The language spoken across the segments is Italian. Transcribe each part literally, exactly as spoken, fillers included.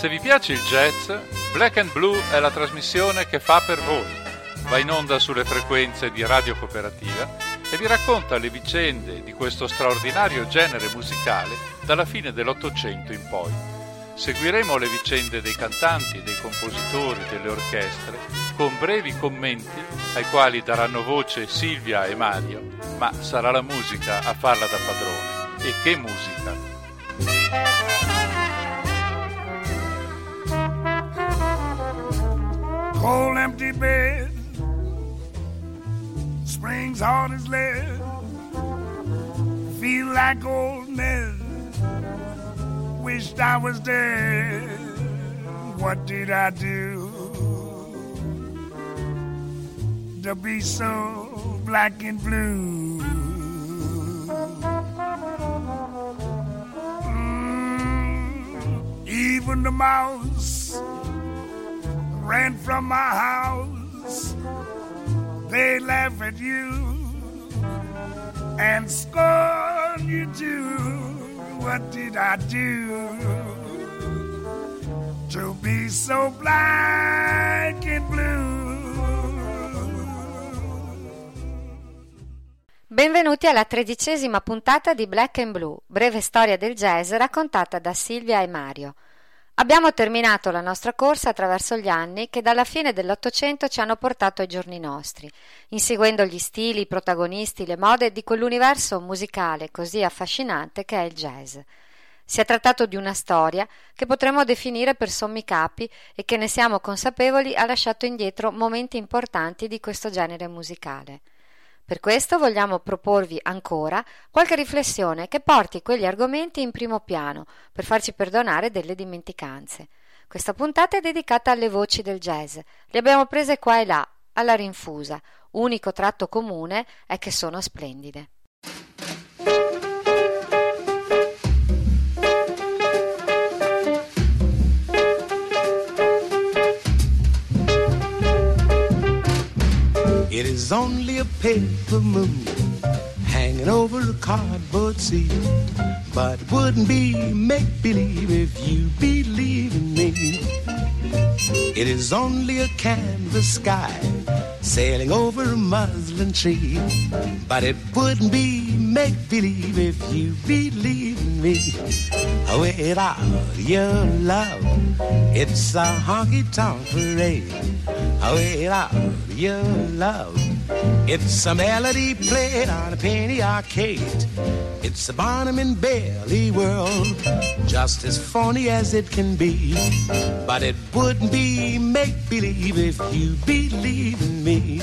Se vi piace il jazz, Black and Blue è la trasmissione che fa per voi. Va in onda sulle frequenze di Radio Cooperativa e vi racconta le vicende di questo straordinario genere musicale dalla fine dell'Ottocento in poi. Seguiremo le vicende dei cantanti, dei compositori, delle orchestre, con brevi commenti ai quali daranno voce Silvia e Mario, ma sarà la musica a farla da padrone. E che musica! Cold empty bed, springs hard as lead, feel like oldness, wished I was dead. What did I do to be so black and blue? Mm, even the mouse ran from my house. They laugh at you and scorn you too. What did I do to be so black and blue? Benvenuti alla tredicesima puntata di Black and Blue, breve storia del jazz raccontata da Silvia e Mario. Abbiamo terminato la nostra corsa attraverso gli anni che dalla fine dell'Ottocento ci hanno portato ai giorni nostri, inseguendo gli stili, i protagonisti, le mode di quell'universo musicale così affascinante che è il jazz. Si è trattato di una storia che potremmo definire per sommi capi e che, ne siamo consapevoli, ha lasciato indietro momenti importanti di questo genere musicale. Per questo vogliamo proporvi ancora qualche riflessione che porti quegli argomenti in primo piano, per farci perdonare delle dimenticanze. Questa puntata è dedicata alle voci del jazz. Le abbiamo prese qua e là, alla rinfusa. Unico tratto comune è che sono splendide. It is only a paper moon hanging over a cardboard sea, but it wouldn't be make-believe if you believe in me. It is only a canvas sky sailing over a muslin tree, but it wouldn't be make-believe if you believe in me. Without your love, it's a honky-tonk parade. Without your love, it's a melody played on a penny arcade. It's a Barnum and Bailey world, just as phony as it can be. But it wouldn't be make-believe if you believe in me.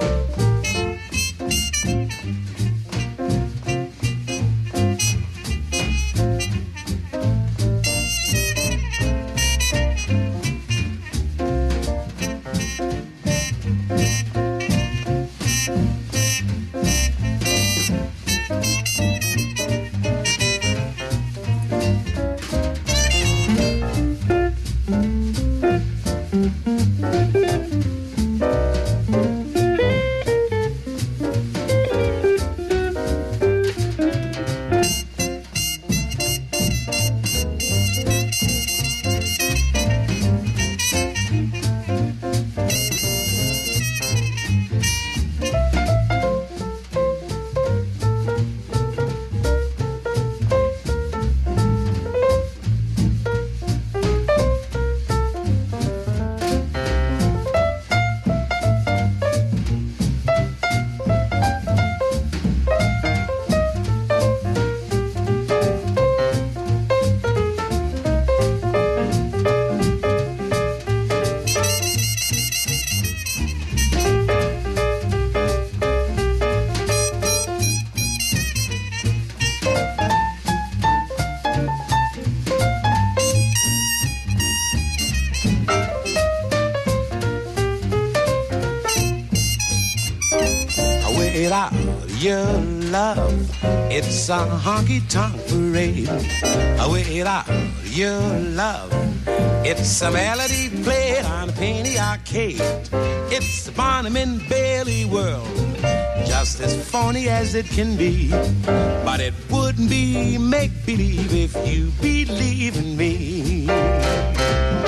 Without your love, it's a honky-tonk parade. Without your love, it's a melody played on a penny arcade. It's the Barnum and Bailey world, just as phony as it can be. But it wouldn't be make-believe if you believe in me.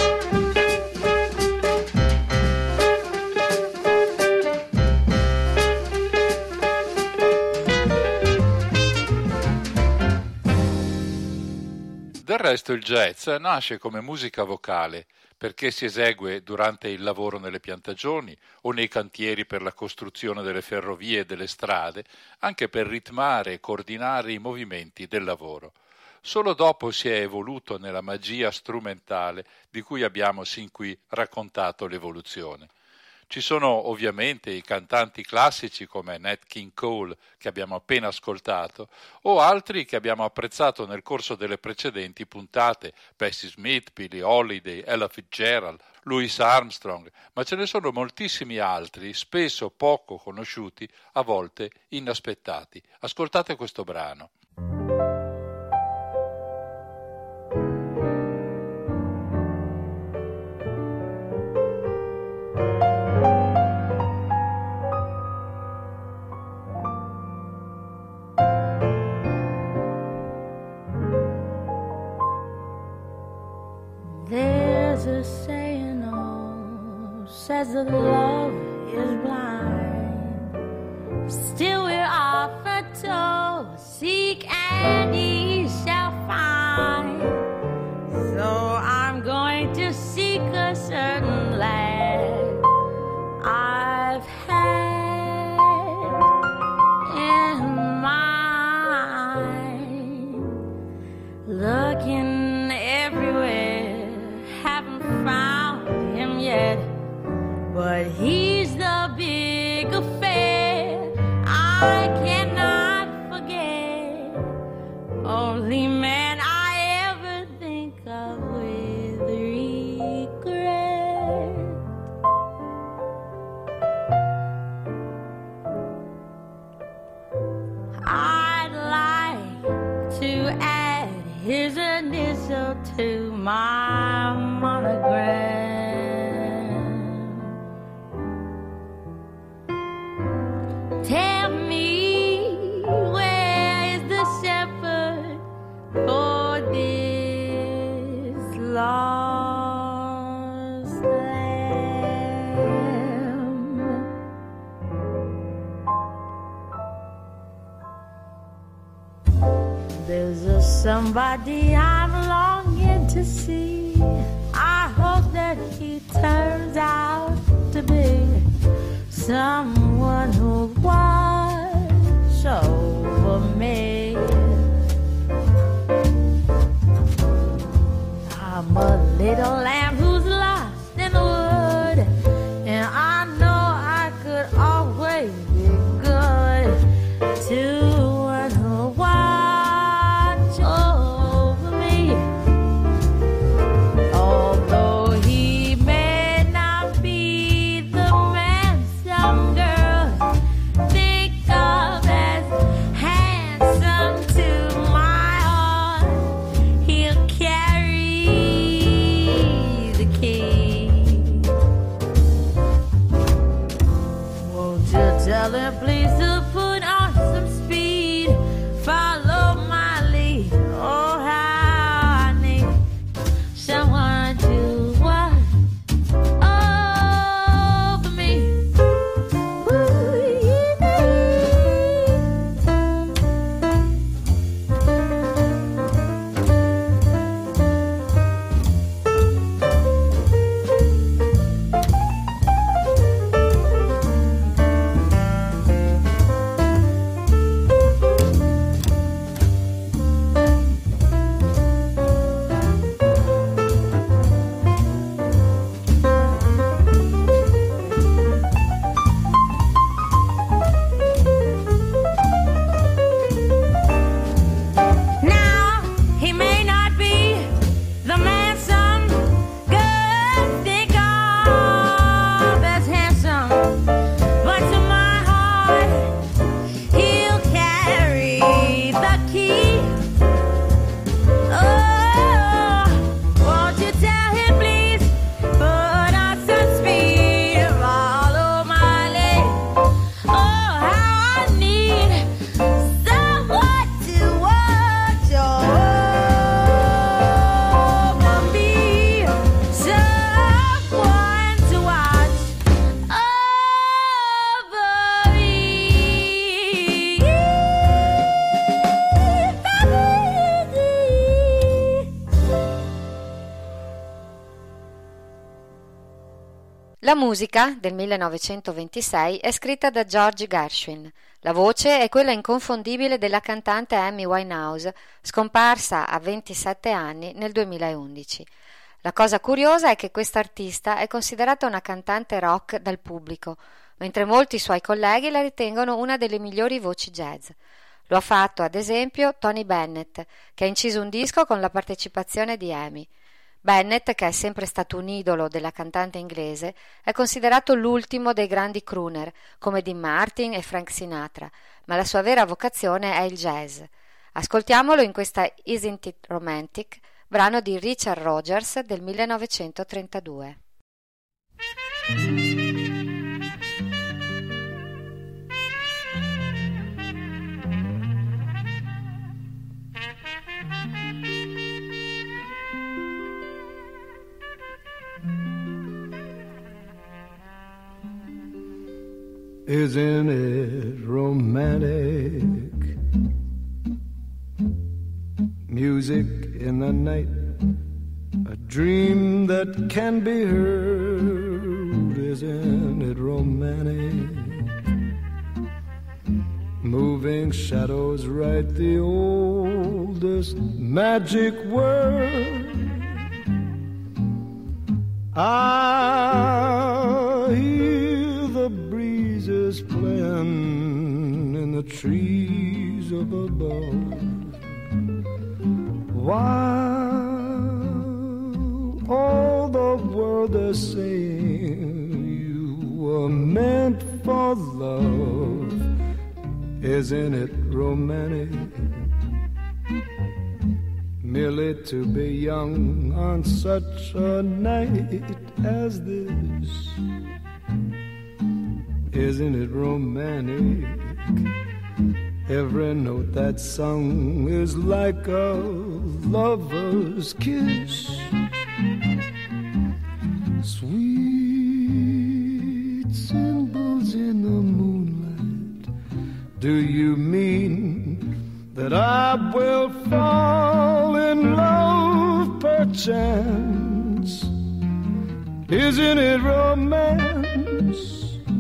resto il jazz nasce come musica vocale perché si esegue durante il lavoro nelle piantagioni o nei cantieri per la costruzione delle ferrovie e delle strade, anche per ritmare e coordinare i movimenti del lavoro. Solo dopo si è evoluto nella magia strumentale di cui abbiamo sin qui raccontato l'evoluzione. Ci sono ovviamente i cantanti classici come Nat King Cole, che abbiamo appena ascoltato, o altri che abbiamo apprezzato nel corso delle precedenti puntate, Bessie Smith, Billie Holiday, Ella Fitzgerald, Louis Armstrong, ma ce ne sono moltissimi altri, spesso poco conosciuti, a volte inaspettati. Ascoltate questo brano. There's a saying, oh, says that love is blind. Still we're often told, seek and ye shall find. So I'm going to seek a certain lad I've had in mind. Looking everywhere, haven't found him yet, but he's the big affair I cannot forget. Only man I ever think of with regret. I'd like to add his initial to my monogram. Tell me, where is the shepherd for this lost lamb? There's a somebody I'm longing to see. I hope that he turns out to be someone who'll watch over me. I'm a little lamb who's lost in the wood, and I know I could always be good to one who'll watch over me. Although he may not be the man some girls think of as handsome, to my heart he'll carry the key. Won't you tell him please to put on some speed, follow my lead? Oh, how I need someone to watch over me. Ooh, La musica, del millenovecentoventisei, è scritta da George Gershwin. La voce è quella inconfondibile della cantante Amy Winehouse, scomparsa a ventisette anni nel duemilaundici. La cosa curiosa è che quest'artista è considerata una cantante rock dal pubblico, mentre molti suoi colleghi la ritengono una delle migliori voci jazz. Lo ha fatto, ad esempio, Tony Bennett, che ha inciso un disco con la partecipazione di Amy. Bennett, che è sempre stato un idolo della cantante inglese, è considerato l'ultimo dei grandi crooner, come Dean Martin e Frank Sinatra, ma la sua vera vocazione è il jazz. Ascoltiamolo in questa Isn't It Romantic, brano di Richard Rogers del millenovecentotrentadue. Isn't it romantic? Music in the night, a dream that can be heard. Isn't it romantic? Moving shadows write the oldest magic word. I hear the breezes playing in the trees up above, while all the world is saying you were meant for love. Isn't it romantic? Merely to be young on such a night as this. Isn't it romantic? Every note that's sung is like a lover's kiss. Sweet symbols in the moonlight. Do you mean that I will fall in love perchance? Isn't it romance?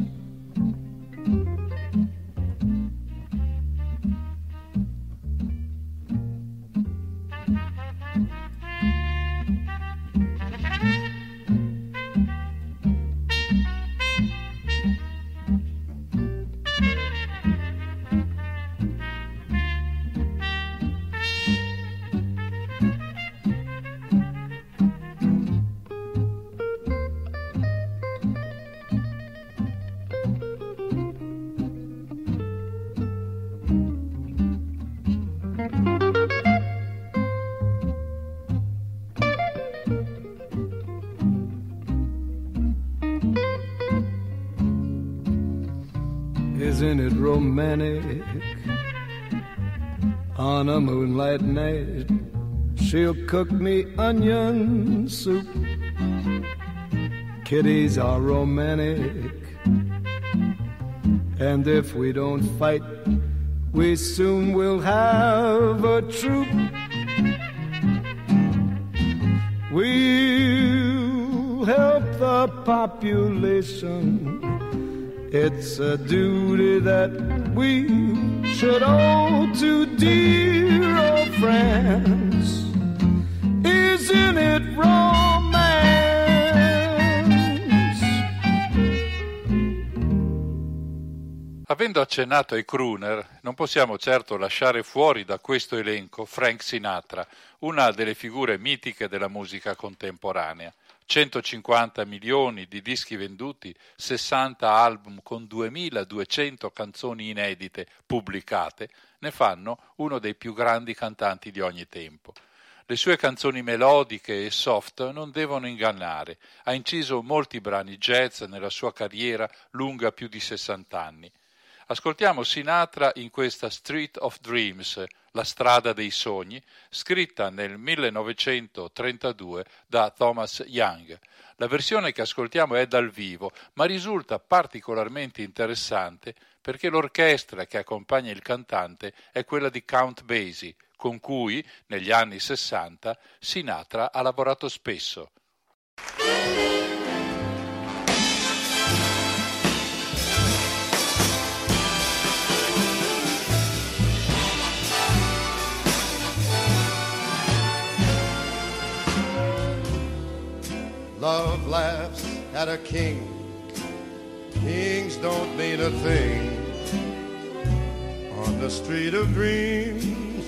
Isn't it romantic? On a moonlight night, she'll cook me onion soup. Kitties are romantic, and if we don't fight, we soon will have a troop. We'll help the population. It's a duty that we should owe to dear old friends. Isn't it romance? Avendo accennato ai crooner, non possiamo certo lasciare fuori da questo elenco Frank Sinatra, una delle figure mitiche della musica contemporanea. centocinquanta milioni di dischi venduti, sessanta album con duemiladuecento canzoni inedite pubblicate, ne fanno uno dei più grandi cantanti di ogni tempo. Le sue canzoni melodiche e soft non devono ingannare. Ha inciso molti brani jazz nella sua carriera lunga più di sessanta anni. Ascoltiamo Sinatra in questa Street of Dreams, la strada dei sogni, scritta nel millenovecentotrentadue da Thomas Young. La versione che ascoltiamo è dal vivo, ma risulta particolarmente interessante perché l'orchestra che accompagna il cantante è quella di Count Basie, con cui, negli anni sessanta, Sinatra ha lavorato spesso. a king. Kings don't mean a thing on the street of dreams.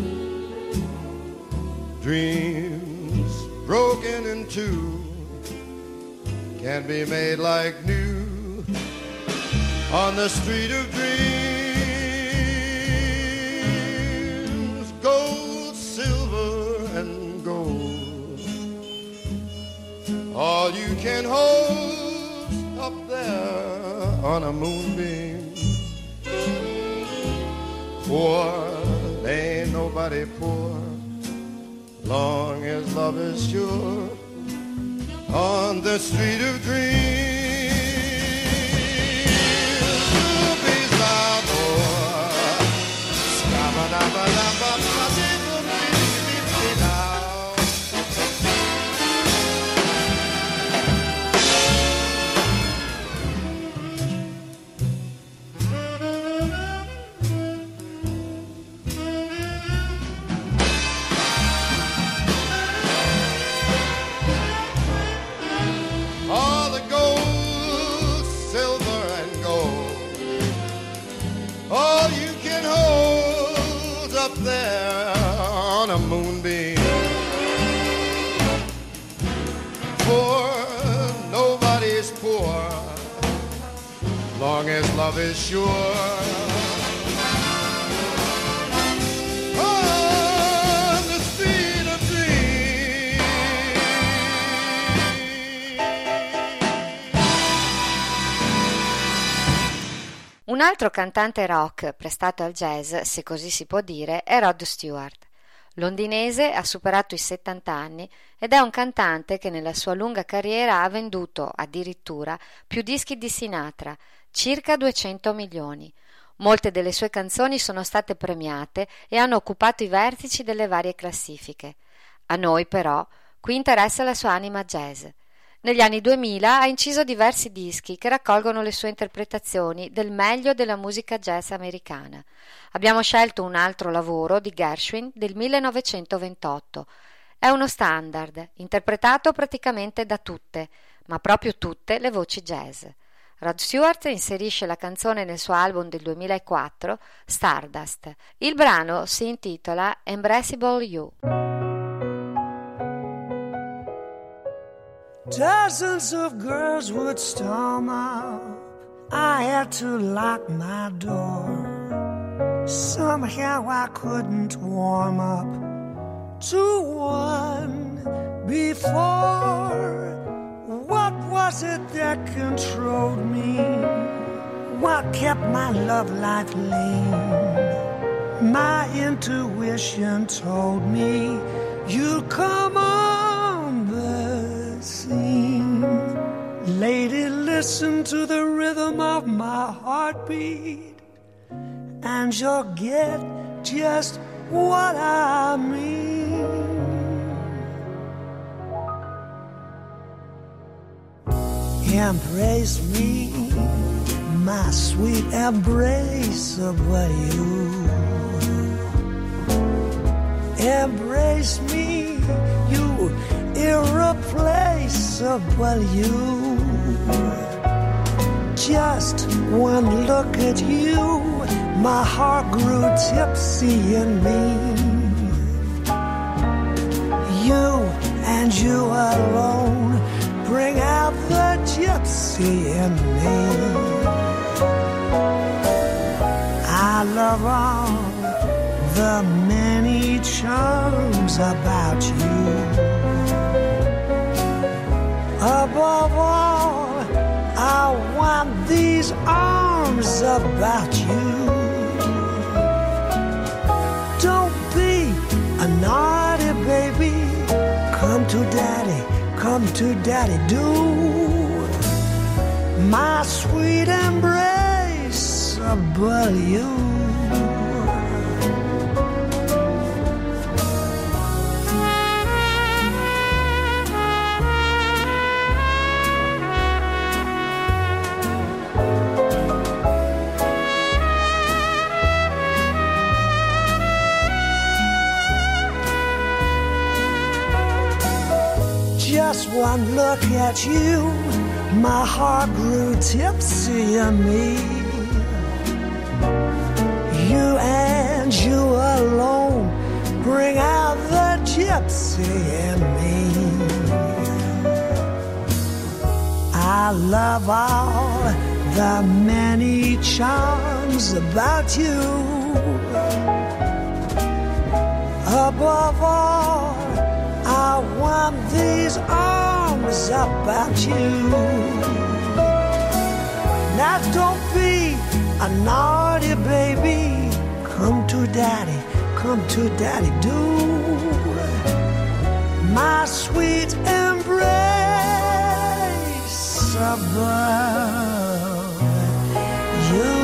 Dreams broken in two can be made like new on the street of dreams. Gold, silver, and gold, all you can hold up there on a moonbeam. Poor, ain't nobody poor, long as love is sure on the street of dreams. Rubies are more. All the gold, silver, and gold, all you can hold up there on a moonbeam. For nobody's poor, long as love is sure. On the street of dreams. Un altro cantante rock prestato al jazz, se così si può dire, è Rod Stewart. Londinese, ha superato i settanta anni ed è un cantante che nella sua lunga carriera ha venduto addirittura più dischi di Sinatra, circa duecento milioni. Molte delle sue canzoni sono state premiate e hanno occupato i vertici delle varie classifiche. A noi però qui interessa la sua anima jazz. Negli anni duemila ha inciso diversi dischi che raccolgono le sue interpretazioni del meglio della musica jazz americana. Abbiamo scelto un altro lavoro di Gershwin del millenovecentoventotto. È uno standard, interpretato praticamente da tutte, ma proprio tutte le voci jazz. Rod Stewart inserisce la canzone nel suo album del duemilaquattro, Stardust. Il brano si intitola Embraceable You. Dozens of girls would storm up. I had to lock my door. Somehow I couldn't warm up to one before. What was it that controlled me? What kept my love life lame? My intuition told me you'd come on the scene. Lady, listen to the rhythm of my heartbeat, and you'll get just what I mean. Embrace me, my sweet embraceable you. Embrace me, you irreplaceable you. Just one look at you, my heart grew tipsy in me. You and you alone bring out the gypsy in me. I love all the many charms about you. Above all, I want these arms about you. Don't be a naughty baby. Come to daddy, come to daddy, do. My sweet embraceable you. Just one look at you, my heart grew tipsy in me. You and you alone bring out the gypsy in me. I love all the many charms about you. Above all, I want these arms about you. Now don't be a naughty baby. Come to daddy, come to daddy, do. My sweet embrace above you.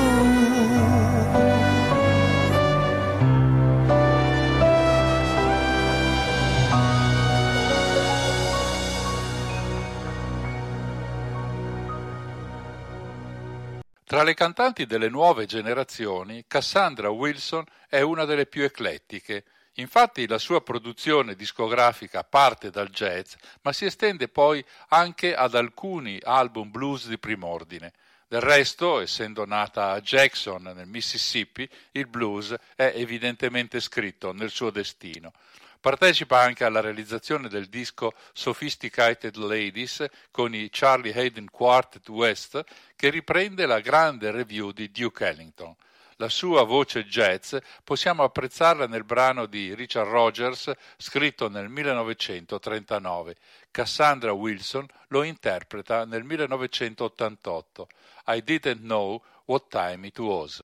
Tra le cantanti delle nuove generazioni, Cassandra Wilson è una delle più eclettiche. Infatti la sua produzione discografica parte dal jazz, ma si estende poi anche ad alcuni album blues di prim'ordine. Del resto, essendo nata a Jackson, nel Mississippi, il blues è evidentemente scritto nel suo destino. Partecipa anche alla realizzazione del disco Sophisticated Ladies con i Charlie Haden Quartet West, che riprende la grande review di Duke Ellington. La sua voce jazz possiamo apprezzarla nel brano di Richard Rogers scritto nel millenovecentotrentanove. Cassandra Wilson lo interpreta nel millenovecentottantotto. I Didn't Know What Time It Was.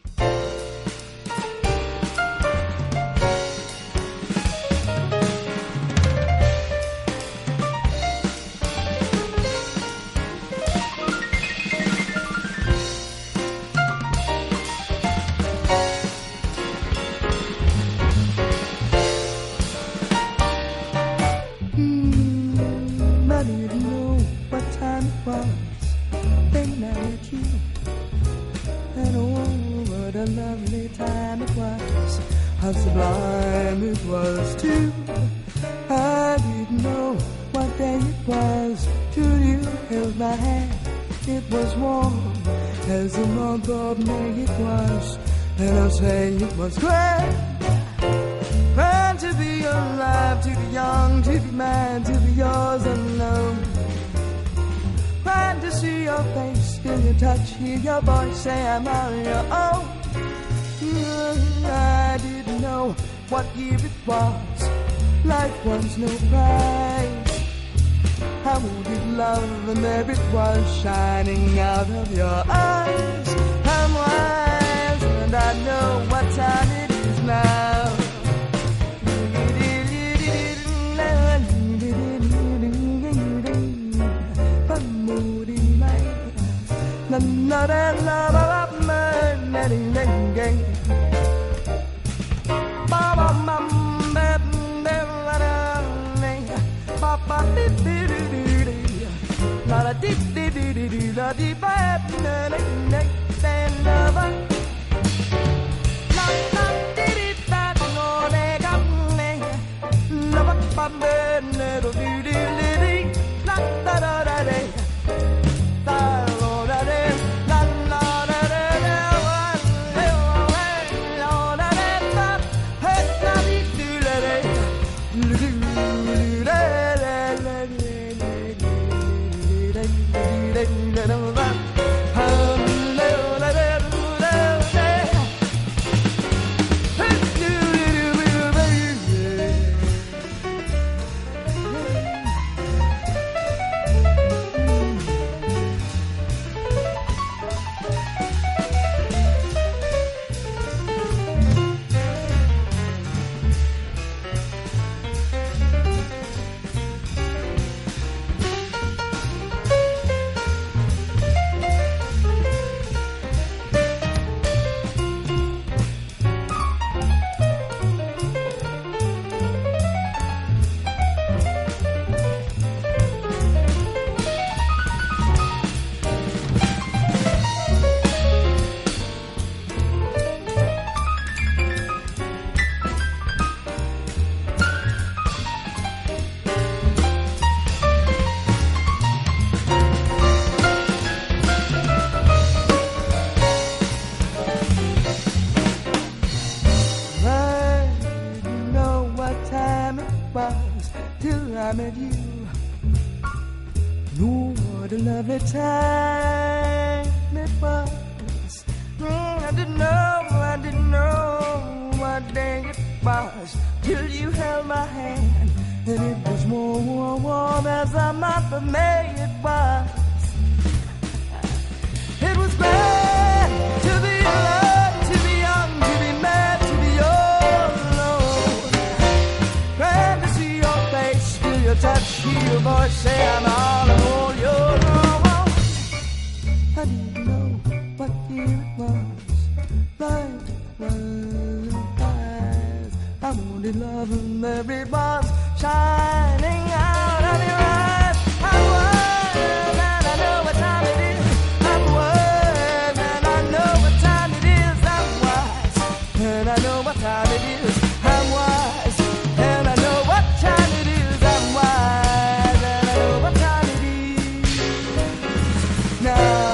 A lovely time it was, how sublime it was too. I didn't know what day it was till you held my hand. It was warm as the month of May it was, and I'll say it was grand. Grand to be alive, to be young, to be mine, to be yours alone. Grand to see your face, feel your touch, hear your voice, say I'm on your own. I didn't know what year it was. Life was no prize. I wanted love and there it was shining out of your eyes. I'm wise and I know what time it is now. met you. Oh, what a lovely time it was. Mm, I didn't know, I didn't know what day it was till you held my hand, and it was warm, warm, warm as the month of May it was. It was glad to be alive, to be young, to be mad, to be all alone. Glad to see your face, feel your touch, hear your voice, say I'm all alone. You're wrong. I didn't know what year it was. Life was eyes. I wanted love and there it was, shining out of your eyes. I was, and I know what time it is. I'm wise, and I know what time it is. I'm wise, and I know what time it is. I'm wise, and I know what time it is. I'm wise, and I know what time it is. Now.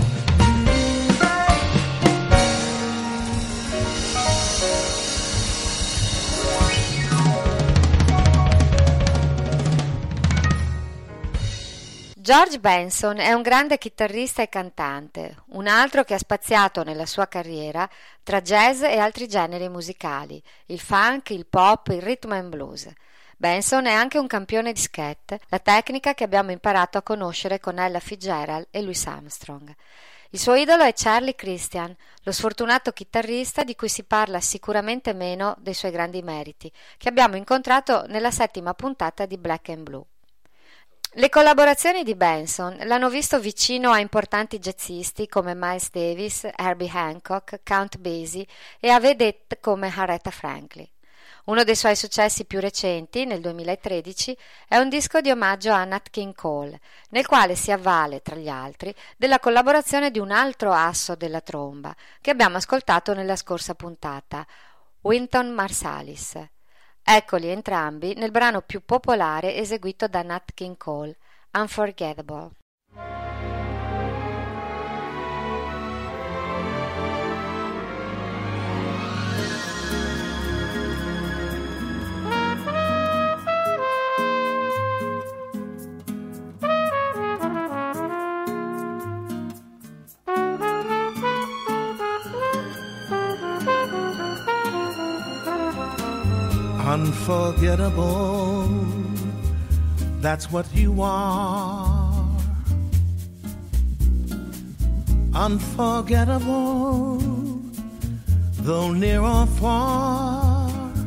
George Benson è un grande chitarrista e cantante, un altro che ha spaziato nella sua carriera tra jazz e altri generi musicali, il funk, il pop, il rhythm and blues. Benson è anche un campione di scat, la tecnica che abbiamo imparato a conoscere con Ella Fitzgerald e Louis Armstrong. Il suo idolo è Charlie Christian, lo sfortunato chitarrista di cui si parla sicuramente meno dei suoi grandi meriti, che abbiamo incontrato nella settima puntata di Black and Blue. Le collaborazioni di Benson l'hanno visto vicino a importanti jazzisti come Miles Davis, Herbie Hancock, Count Basie e a vedette come Aretha Franklin. Uno dei suoi successi più recenti, nel duemilatredici, è un disco di omaggio a Nat King Cole, nel quale si avvale, tra gli altri, della collaborazione di un altro asso della tromba, che abbiamo ascoltato nella scorsa puntata, Wynton Marsalis. Eccoli entrambi nel brano più popolare eseguito da Nat King Cole, Unforgettable. Unforgettable, that's what you are. Unforgettable, though near or far.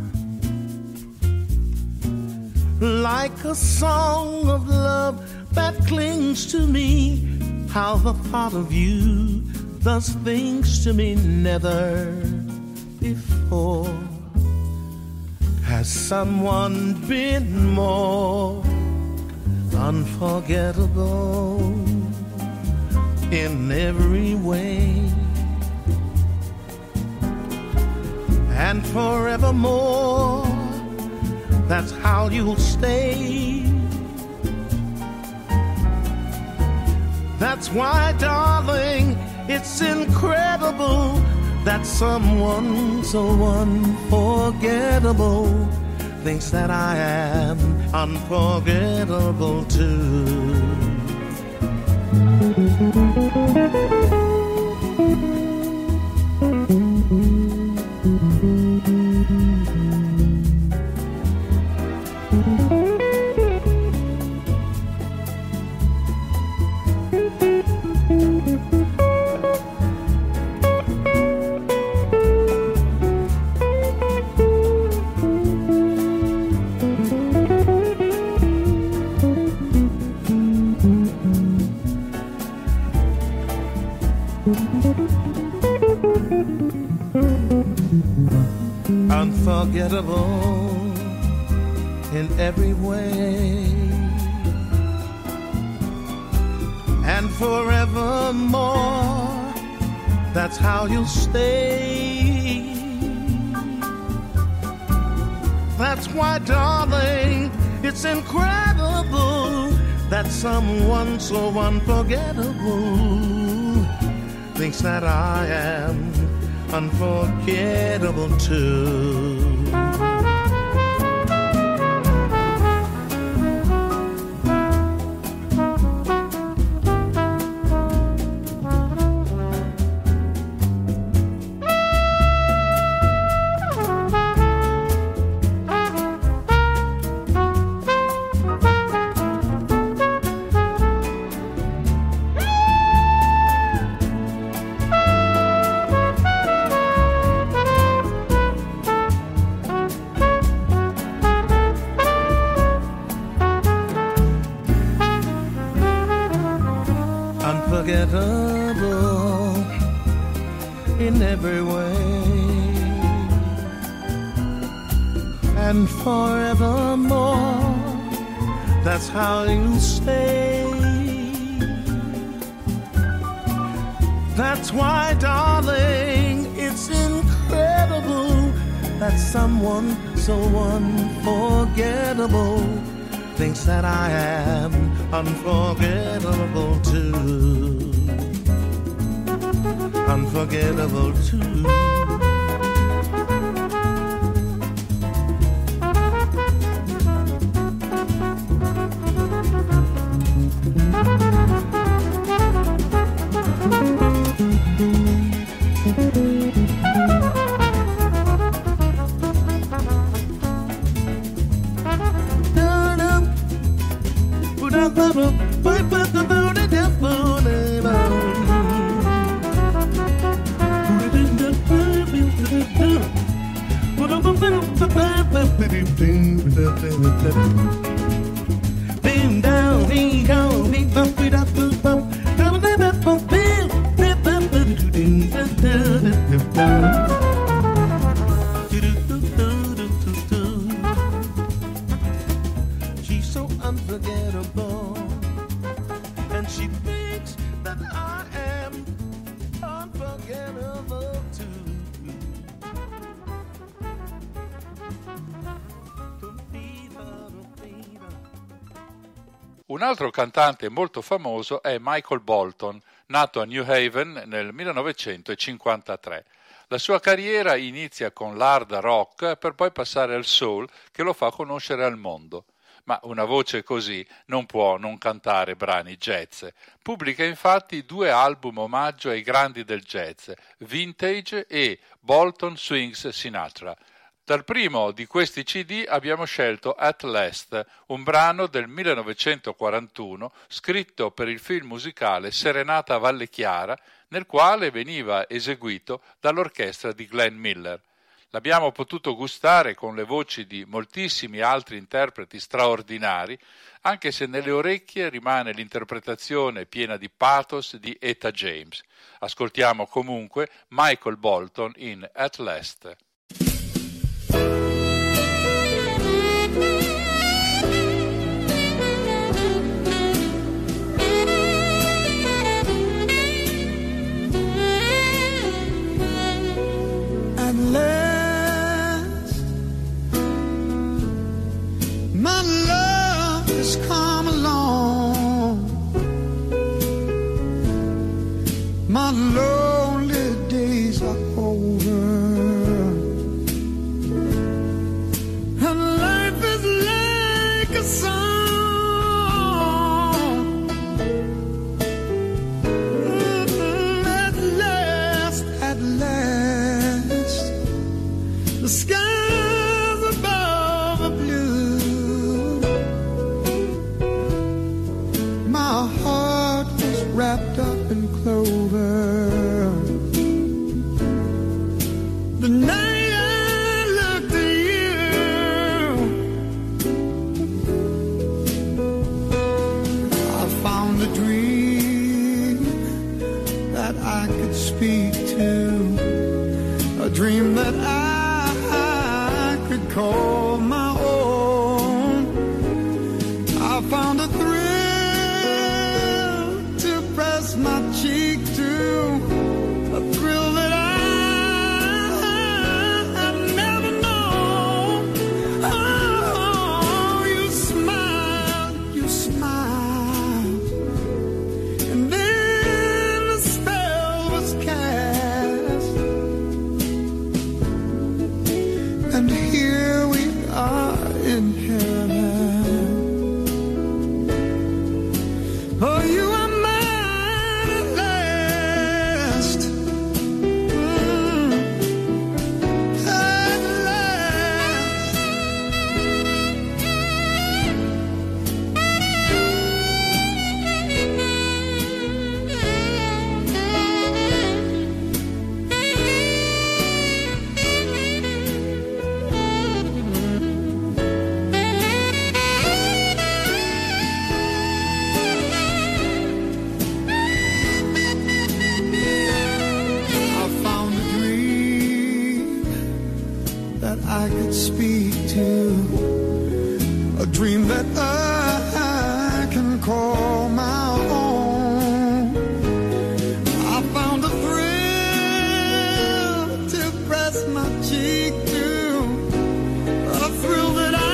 Like a song of love that clings to me, how the thought of you does things to me never before. Has someone been more unforgettable in every way? And forevermore, that's how you'll stay. That's why, darling, it's incredible that someone so unforgettable thinks that I am unforgettable too. Unforgettable in every way, and forevermore, that's how you'll stay. That's why, darling, it's incredible that someone so unforgettable thinks that I am unforgettable too. unforgettable in every way, and forevermore, that's how you stay. That's why, darling, it's incredible that someone so unforgettable thinks that I am unforgettable too. Unforgettable too. Been down, been down, been bump it up, bump bump. She's so unforgettable, and she thinks that I am unforgettable too. Un altro cantante molto famoso è Michael Bolton, nato a New Haven nel millenovecentocinquantatré. La sua carriera inizia con l'hard rock per poi passare al soul, che lo fa conoscere al mondo. Ma una voce così non può non cantare brani jazz. Pubblica infatti due album omaggio ai grandi del jazz, Vintage e Bolton Swings Sinatra. Dal primo di questi C D abbiamo scelto At Last, un brano del millenovecentoquarantuno scritto per il film musicale Serenata a Valle Chiara, nel quale veniva eseguito dall'orchestra di Glenn Miller. L'abbiamo potuto gustare con le voci di moltissimi altri interpreti straordinari, anche se nelle orecchie rimane l'interpretazione piena di pathos di Etta James. Ascoltiamo comunque Michael Bolton in At Last. My love has come along. My lonely days are over, and life is like a song. Mm-hmm. At last, at last, the skies above are blue. My heart was wrapped up in clover. The night I looked at you, I found a dream that I could speak to, a dream that I, I could call my own. I found a thrill my cheek to, a thrill that I have never known. Oh, you smiled, you smiled, and then the spell was cast, and here we are in heaven. Oh, you are that I can call my own. I found a thrill to press my cheek to, a thrill that I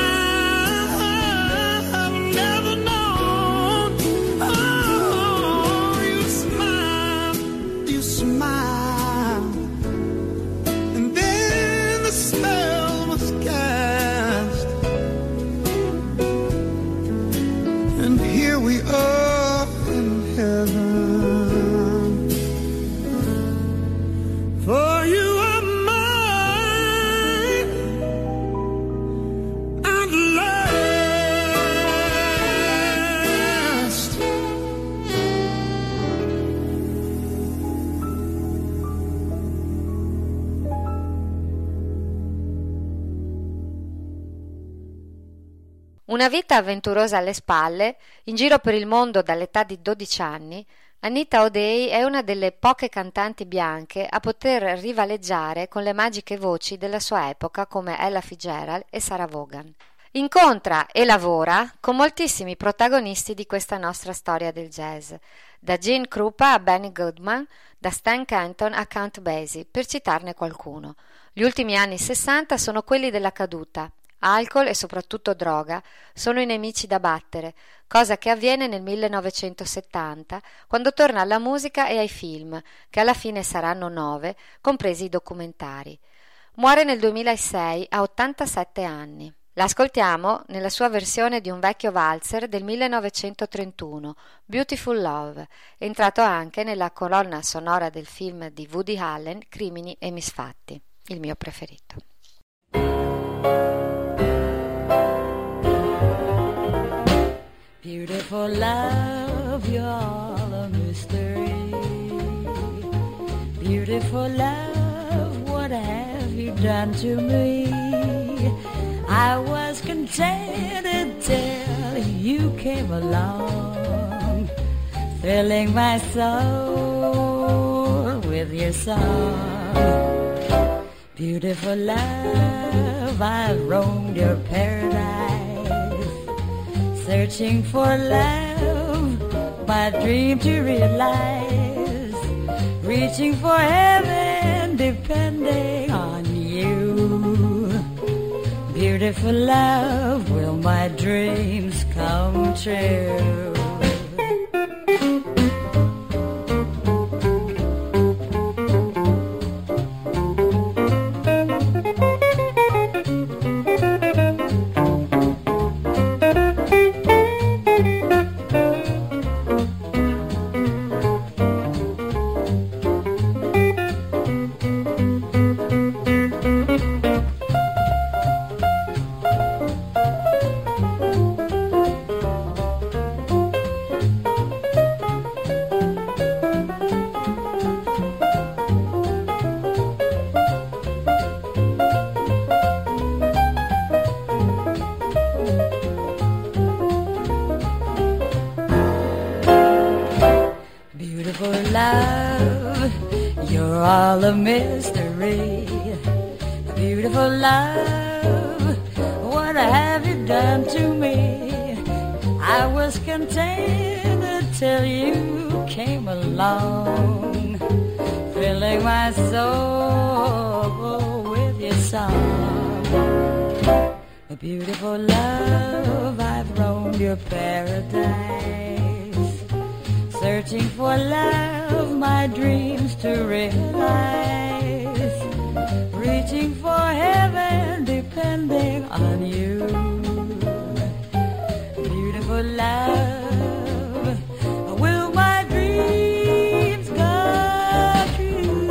have never known. Oh, you smile, you smile, and then the spell was cast, and here we are in heaven. For you are mine at last. Una vita avventurosa alle spalle, in giro per il mondo dall'età di dodici anni, Anita O'Day è una delle poche cantanti bianche a poter rivaleggiare con le magiche voci della sua epoca come Ella Fitzgerald e Sarah Vaughan. Incontra e lavora con moltissimi protagonisti di questa nostra storia del jazz, da Gene Krupa a Benny Goodman, da Stan Kenton a Count Basie, per citarne qualcuno. Gli ultimi anni sessanta sono quelli della caduta. Alcol e soprattutto droga sono i nemici da battere, cosa che avviene nel millenovecentosettanta, quando torna alla musica e ai film, che alla fine saranno nove, compresi i documentari. Muore nel duemilasei a ottantasette anni. L'ascoltiamo nella sua versione di un vecchio valzer del millenovecentotrentuno, Beautiful Love, entrato anche nella colonna sonora del film di Woody Allen, Crimini e Misfatti, il mio preferito. Beautiful love, you're all a mystery. Beautiful love, what have you done to me? I was contented till you came along, filling my soul with your song. Beautiful love, I've roamed your paradise, searching for love, my dream to realize, reaching for heaven, depending on you. Beautiful love, will my dreams come true? All a mystery, beautiful love, what have you done to me? I was contented till you came along, filling my soul with your song. A beautiful love, I've roamed your paradise, searching for love, my dreams to realize, reaching for heaven, depending on you. Beautiful love, will my dreams come true?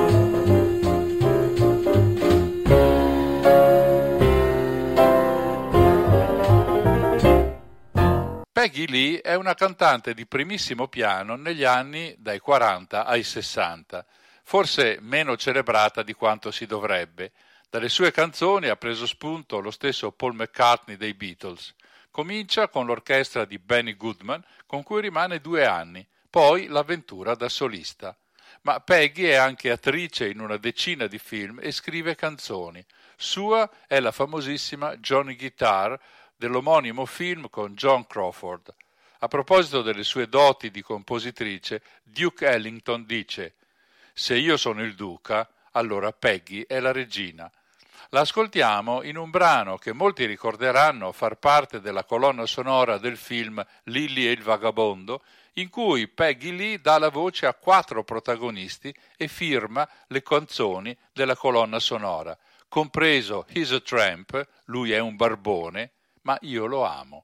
Peggy Lee è una cantante di primissimo piano negli anni dai quaranta ai sessanta, forse meno celebrata di quanto si dovrebbe. Dalle sue canzoni ha preso spunto lo stesso Paul McCartney dei Beatles. Comincia con l'orchestra di Benny Goodman, con cui rimane due anni, poi l'avventura da solista. Ma Peggy è anche attrice in una decina di film e scrive canzoni. Sua è la famosissima Johnny Guitar, dell'omonimo film con Joan Crawford. A proposito delle sue doti di compositrice, Duke Ellington dice: «Se io sono il duca, allora Peggy è la regina». La ascoltiamo in un brano che molti ricorderanno far parte della colonna sonora del film Lily e il vagabondo, in cui Peggy Lee dà la voce a quattro protagonisti e firma le canzoni della colonna sonora, compreso He's a Tramp, lui è un barbone, ma io lo amo.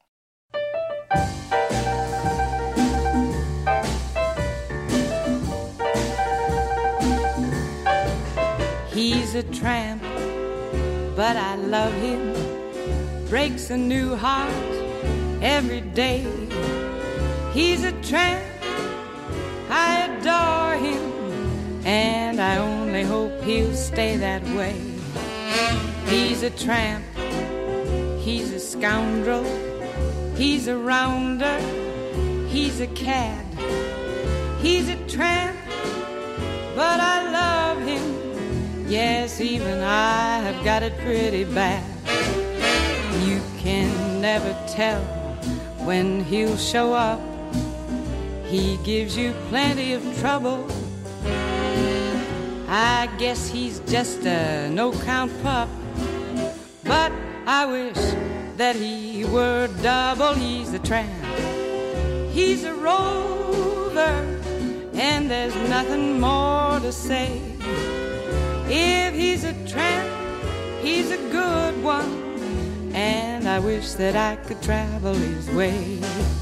He's a tramp, but I love him. Breaks a new heart every day. He's a tramp, I adore him, and I only hope he'll stay that way. He's a tramp, he's a scoundrel, he's a rounder, he's a cad. He's a tramp, but I love him. Yes, even I have got it pretty bad. You can never tell when he'll show up. He gives you plenty of trouble. I guess he's just a no-count pup, but I wish that he were double. He's a tramp, he's a rover, and there's nothing more to say. If he's a tramp, he's a good one, and I wish that I could travel his way.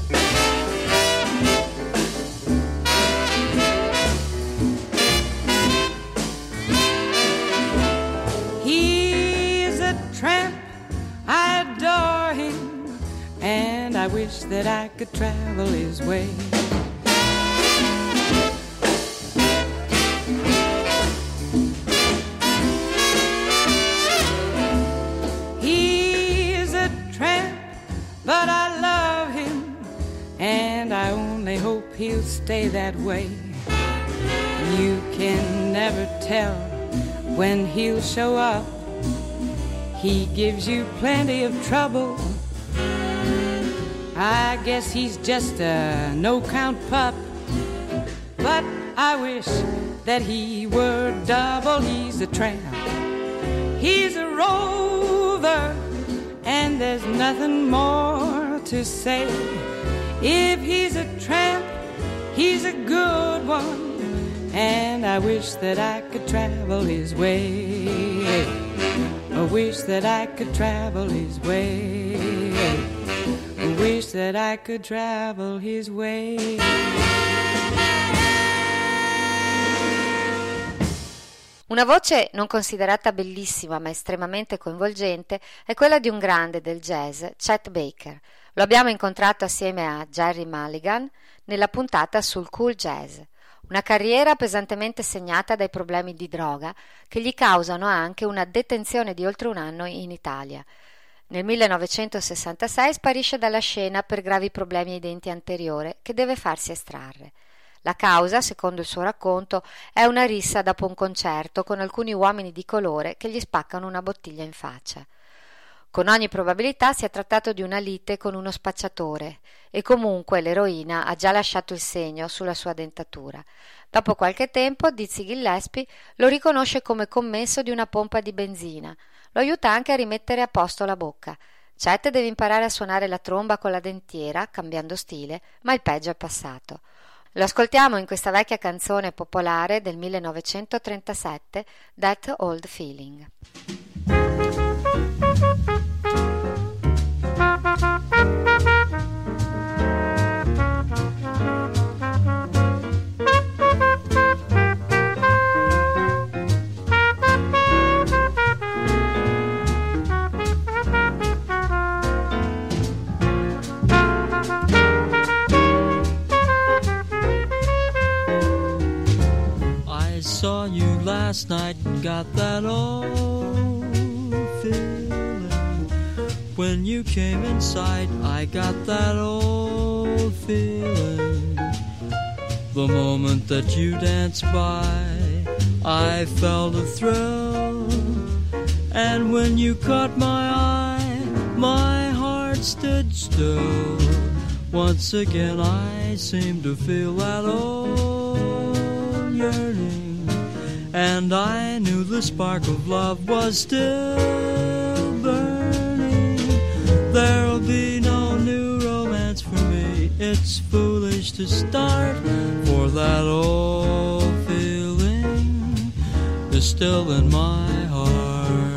He's a tramp, I adore him, and I wish that I could travel his way. But I love him, and I only hope he'll stay that way. You can never tell when he'll show up. He gives you plenty of trouble. I guess he's just a no-count pup, but I wish that he were double. He's a tramp, he's a rover, and there's nothing more to say. If he's a tramp, he's a good one, and I wish that I could travel his way. I wish that I could travel his way. I wish that I could travel his way. Una voce non considerata bellissima ma estremamente coinvolgente è quella di un grande del jazz, Chet Baker. Lo abbiamo incontrato assieme a Gerry Mulligan nella puntata sul cool jazz. Una carriera pesantemente segnata dai problemi di droga che gli causano anche una detenzione di oltre un anno in Italia. Nel millenovecentosessantasei sparisce dalla scena per gravi problemi ai denti anteriore che deve farsi estrarre. La causa, secondo il suo racconto, è una rissa dopo un concerto con alcuni uomini di colore che gli spaccano una bottiglia in faccia. Con ogni probabilità si è trattato di una lite con uno spacciatore e comunque l'eroina ha già lasciato il segno sulla sua dentatura. Dopo qualche tempo Dizzy Gillespie lo riconosce come commesso di una pompa di benzina. Lo aiuta anche a rimettere a posto la bocca. Chet deve imparare a suonare la tromba con la dentiera, cambiando stile, ma il peggio è passato. Lo ascoltiamo in questa vecchia canzone popolare del millenovecentotrentasette, That Old Feeling. Saw you last night and got that old feeling. When you came inside, I got that old feeling. The moment that you danced by, I felt a thrill. And when you caught my eye, my heart stood still. Once again I seemed to feel that old yearning, and I knew the spark of love was still burning. There'll be no new romance for me, it's foolish to start, for that old feeling is still in my heart.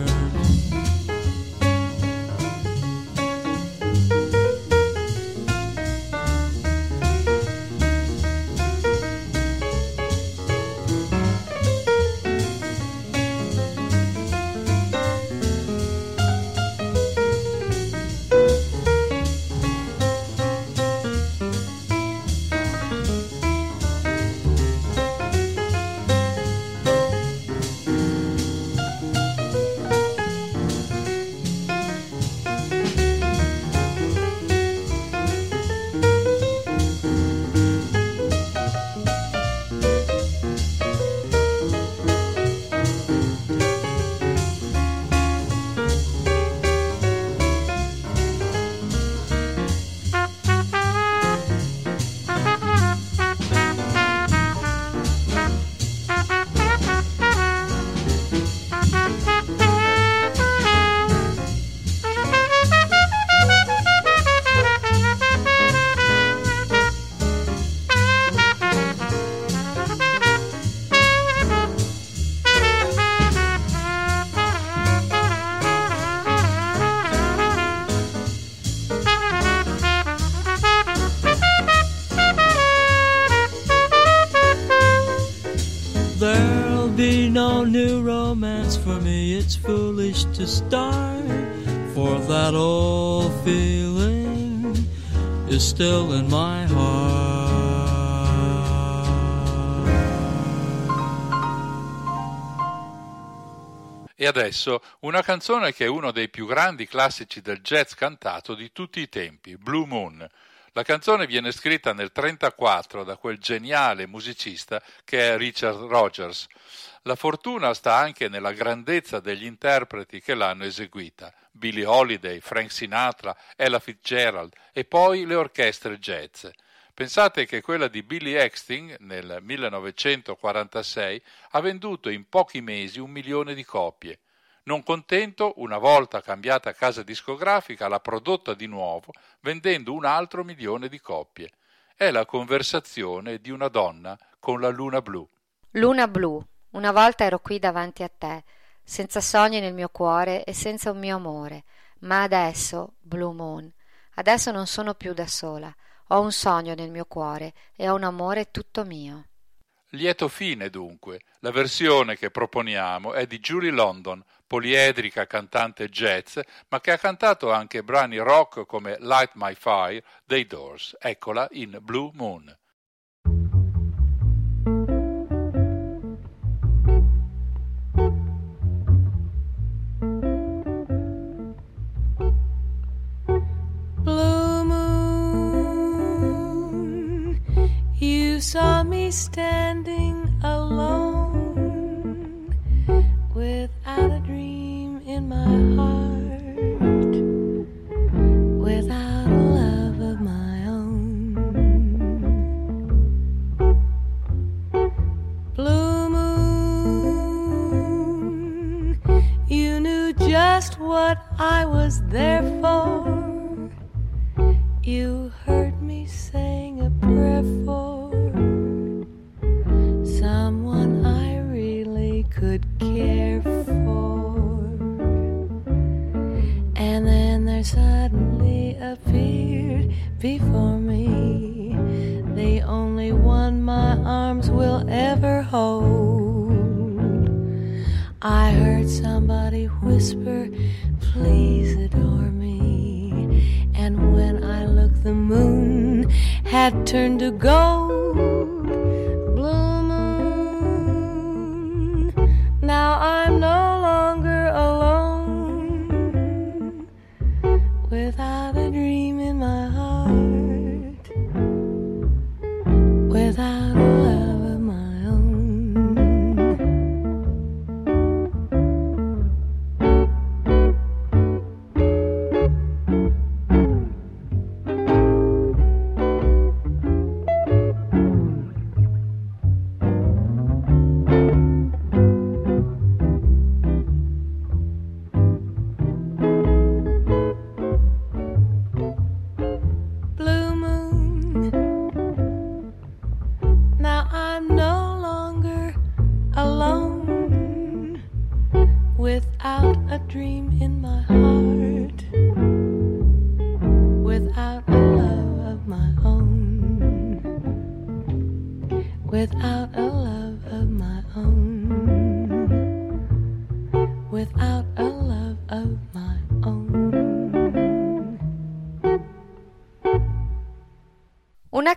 There'll be no new romance for me, it's foolish to start, for that old feeling is still in my heart. E adesso una canzone che è uno dei più grandi classici del jazz cantato di tutti i tempi, Blue Moon. La canzone viene scritta nel trentaquattro da quel geniale musicista che è Richard Rogers. La fortuna sta anche nella grandezza degli interpreti che l'hanno eseguita: Billie Holiday, Frank Sinatra, Ella Fitzgerald e poi le orchestre jazz. Pensate che quella di Billy Eckstine nel millenovecentoquarantasei ha venduto in pochi mesi un milione di copie. Non contento, una volta cambiata casa discografica, l'ha prodotta di nuovo, vendendo un altro milione di copie. È la conversazione di una donna con la luna blu. Luna blu, una volta ero qui davanti a te, senza sogni nel mio cuore e senza un mio amore, ma adesso, Blue Moon, adesso non sono più da sola, ho un sogno nel mio cuore e ho un amore tutto mio. Lieto fine dunque. La versione che proponiamo è di Julie London, poliedrica cantante jazz, ma che ha cantato anche brani rock come Light My Fire dei Doors. Eccola in Blue Moon. Blue moon, you saw me standing alone, without a dream in my heart, without a love of my own. Blue moon, you knew just what I was there for. You heard me sing a prayer for someone I really could care for. And then there suddenly appeared before me the only one my arms will ever hold. I heard somebody whisper, please adore me. And when I looked, the moon had turned to gold. Blue moon, now I'm no longer alone, without a dream in my heart, without a love of my own.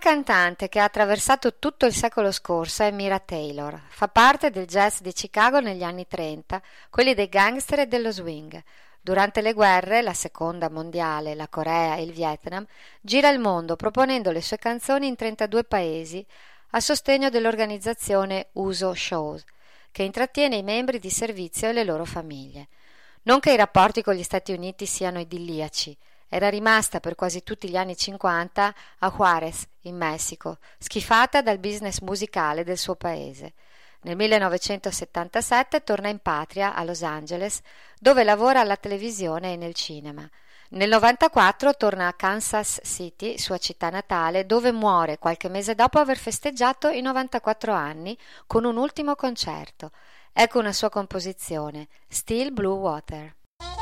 cantante che ha attraversato tutto il secolo scorso è Mira Taylor. Fa parte del jazz di Chicago negli anni trenta, quelli dei gangster e dello swing. Durante le guerre, la seconda mondiale, la Corea e il Vietnam, gira il mondo proponendo le sue canzoni in trentadue paesi a sostegno dell'organizzazione U S O Shows, che intrattiene i membri di servizio e le loro famiglie. Non che i rapporti con gli Stati Uniti siano idilliaci. Era rimasta per quasi tutti gli anni cinquanta a Juárez, in Messico, schifata dal business musicale del suo paese. Nel millenovecentosettantasette torna in patria a Los Angeles, dove lavora alla televisione e nel cinema. Nel novantaquattro torna a Kansas City, sua città natale, dove muore qualche mese dopo aver festeggiato i novantaquattro anni con un ultimo concerto. Ecco una sua composizione, Still Blue Water.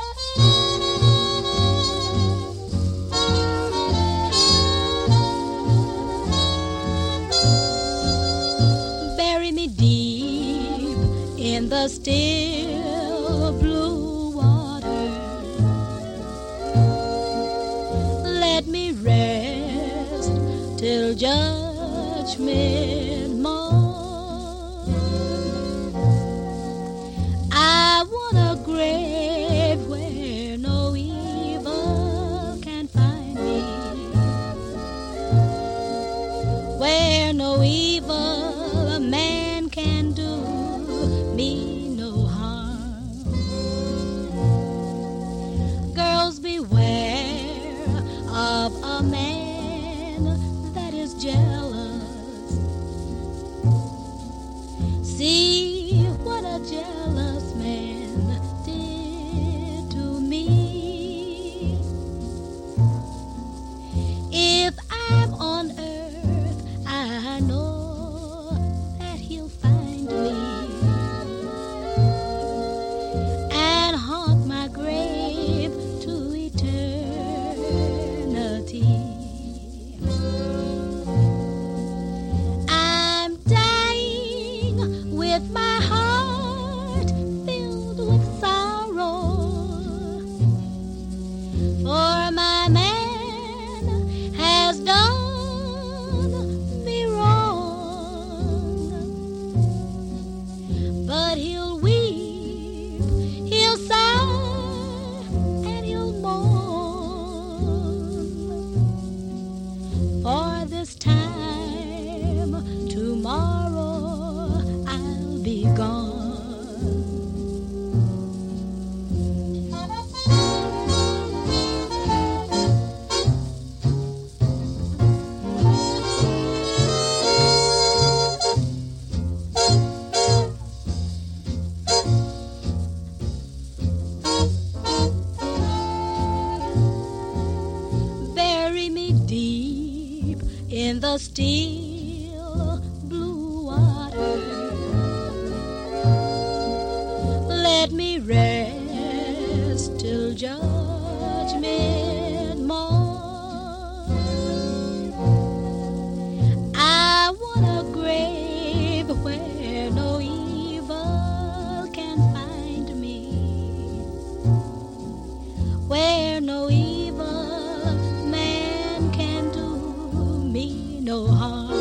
Bury me deep in the still blue water. Let me rest till judgment morn. I want a grave where no evil can find me, where no evil man can do me no harm. Girls, beware of a man that is jealous. See what a jealous man did to me. If I'm on earth, I know that he'll find me and haunt my grave to eternity. I'm dying with my heart filled with sorrow, for my man has done me wrong. But he'll weep, he'll sigh, and he'll mourn. For this time tomorrow I'll be gone. Bury me deep in the still blue water. Let me rest till judgment morn. I want a grave where no evil can find me, where no evil man can do me no harm.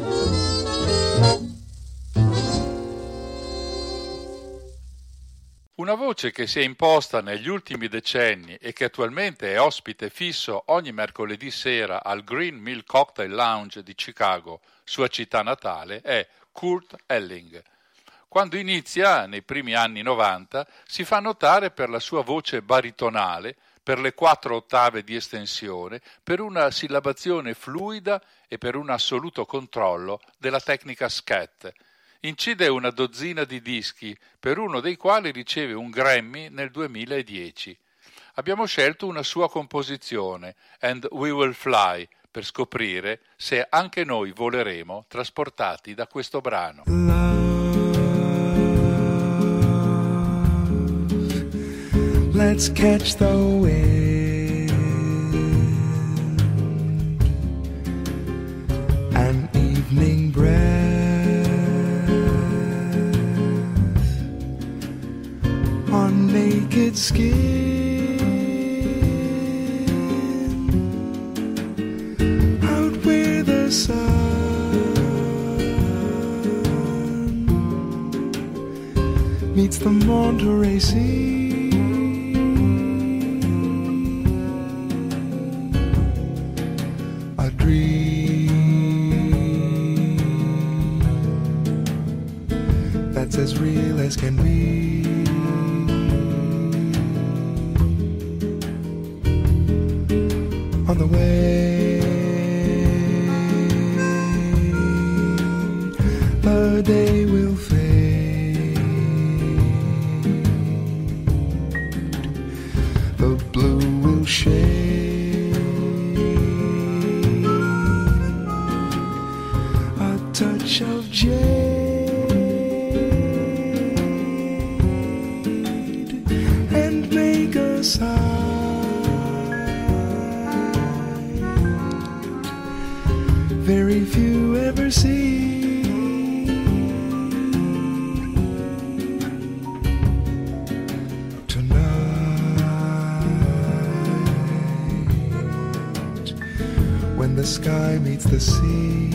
Una voce che si è imposta negli ultimi decenni e che attualmente è ospite fisso ogni mercoledì sera al Green Mill Cocktail Lounge di Chicago, sua città natale, è Kurt Elling. Quando inizia, nei primi anni novanta, si fa notare per la sua voce baritonale, per le quattro ottave di estensione, per una sillabazione fluida e per un assoluto controllo della tecnica scat. Incide una dozzina di dischi, per uno dei quali riceve un Grammy nel duemiladieci. Abbiamo scelto una sua composizione, And We Will Fly, per scoprire se anche noi voleremo trasportati da questo brano. Let's catch the wind, an evening breath on naked skin, out where the sun meets the Monterey Sea. A dream that's as real as can be. On the way, the day will fade, the blue will shade, a touch of jade, and make a sigh. Very few ever see. Tonight, when the sky meets the sea,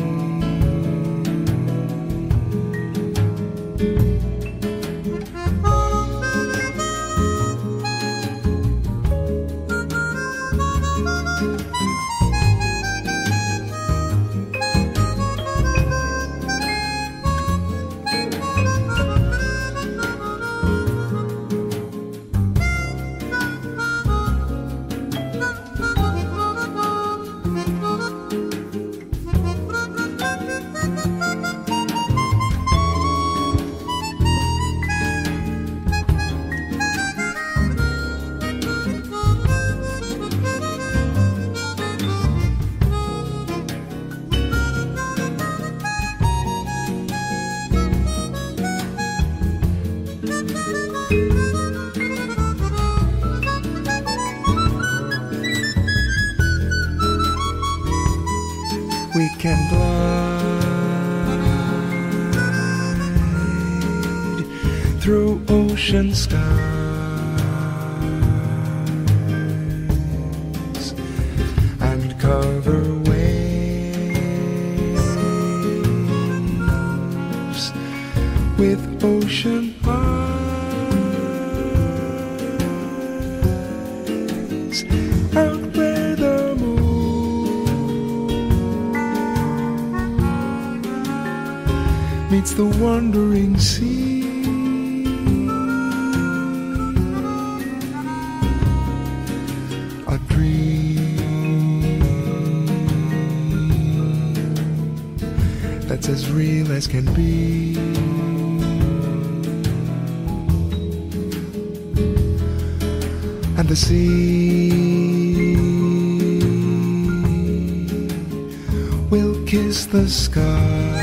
we can glide through ocean skies and cover waves with ocean eyes, out where the meets the wandering sea. A dream that's as real as can be. And the sea will kiss the sky,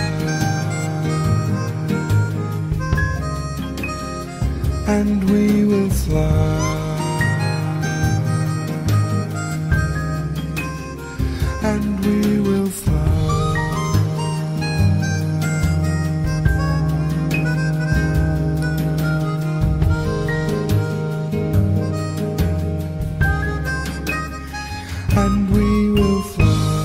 and we will fly, and we will fly. And we will fly.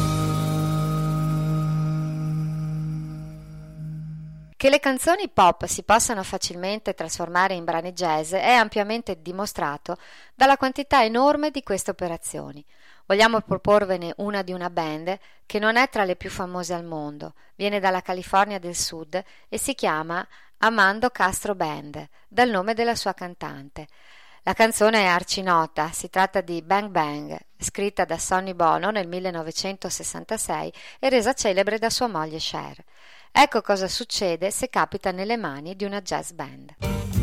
Che le canzoni pop si possano facilmente trasformare in brani jazz è ampiamente dimostrato dalla quantità enorme di queste operazioni. Vogliamo proporvene una di una band che non è tra le più famose al mondo, viene dalla California del Sud e si chiama Amando Castro Band, dal nome della sua cantante. La canzone è arcinota, si tratta di Bang Bang, scritta da Sonny Bono nel millenovecentosessantasei e resa celebre da sua moglie Cher. Ecco cosa succede se capita nelle mani di una jazz band.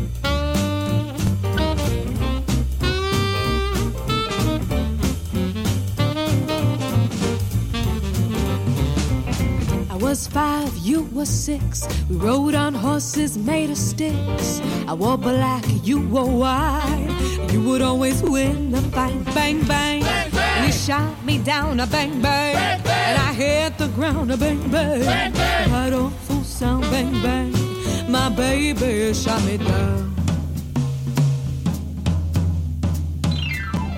I was five, you were six. We rode on horses made of sticks. I wore black, you wore white. You would always win the fight. Bang, bang, bang, bang. And you shot me down a bang, bang, bang, bang. And I hit the ground a bang, bang, bang, bang. That awful sound, bang, bang. My baby shot me down.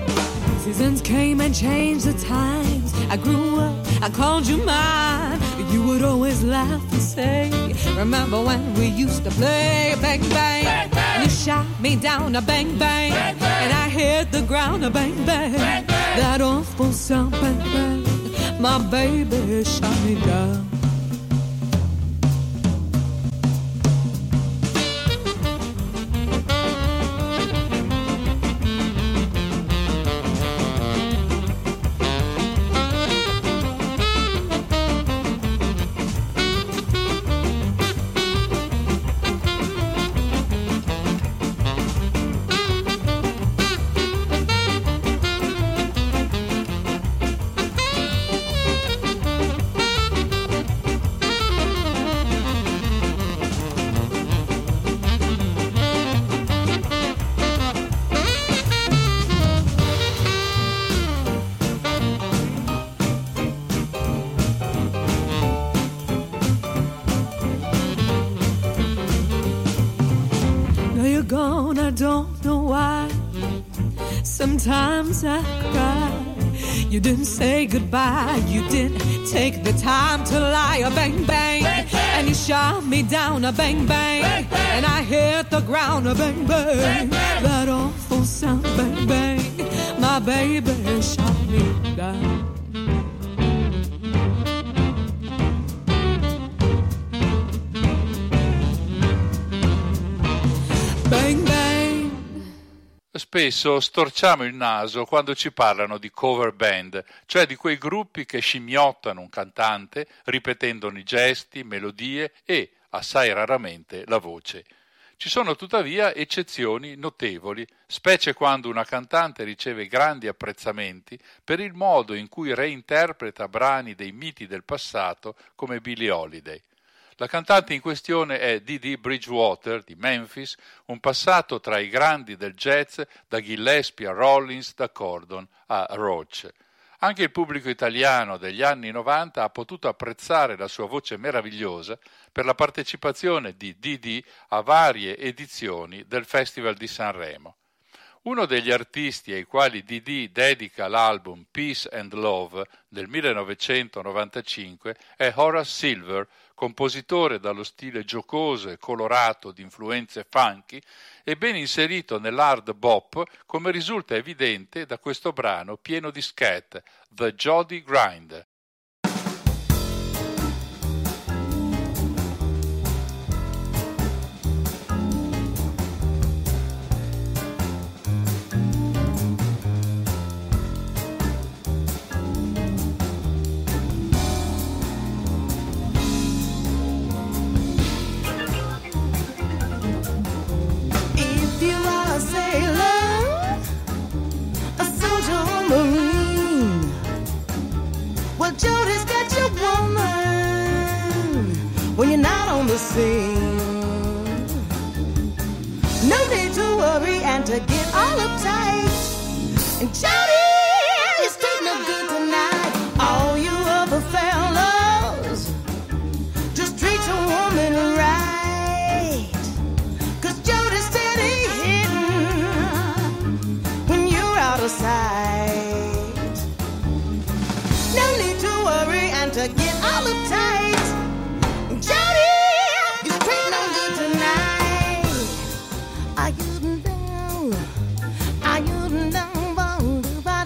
Seasons came and changed the times. I grew up, I called you mine. you would always laugh and say, remember when we used to play bang bang, bang, bang. And you shot me down a bang bang, bang, bang. And I hit the ground a bang bang, bang, bang. That awful sound bang bang, my baby shot me down. Gone, I don't know why. Sometimes I cry. You didn't say goodbye. You didn't take the time to lie. A bang bang, bang, bang. And you shot me down. A bang bang, bang, bang. And I hit the ground. A bang bang, bang, bang. That awful sound. Bang bang, my baby shot me down. Spesso storciamo il naso quando ci parlano di cover band, cioè di quei gruppi che scimmiottano un cantante ripetendone i gesti, melodie e, assai raramente, la voce. Ci sono tuttavia eccezioni notevoli, specie quando una cantante riceve grandi apprezzamenti per il modo in cui reinterpreta brani dei miti del passato come Billie Holiday. La cantante in questione è Dee Dee Bridgewater di Memphis, un passato tra i grandi del jazz, da Gillespie a Rollins, da Cordon a Roach. Anche il pubblico italiano degli anni novanta ha potuto apprezzare la sua voce meravigliosa per la partecipazione di Dee Dee a varie edizioni del Festival di Sanremo. Uno degli artisti ai quali Dee Dee dedica l'album Peace and Love del millenovecentonovantacinque è Horace Silver, compositore dallo stile giocoso e colorato di influenze funky e ben inserito nell'hard bop, come risulta evidente da questo brano pieno di scat, The Jody Grind. Jody's got your woman when you're not on the scene. No need to worry and to get all uptight. And Jody, you're straight no good tonight. All you other fellas, just treat your woman right. Cause Jody's steady hitting when you're out of sight. No need to worry and to get all uptight. Jody, you're straight no good tonight. Are you down? Are you down?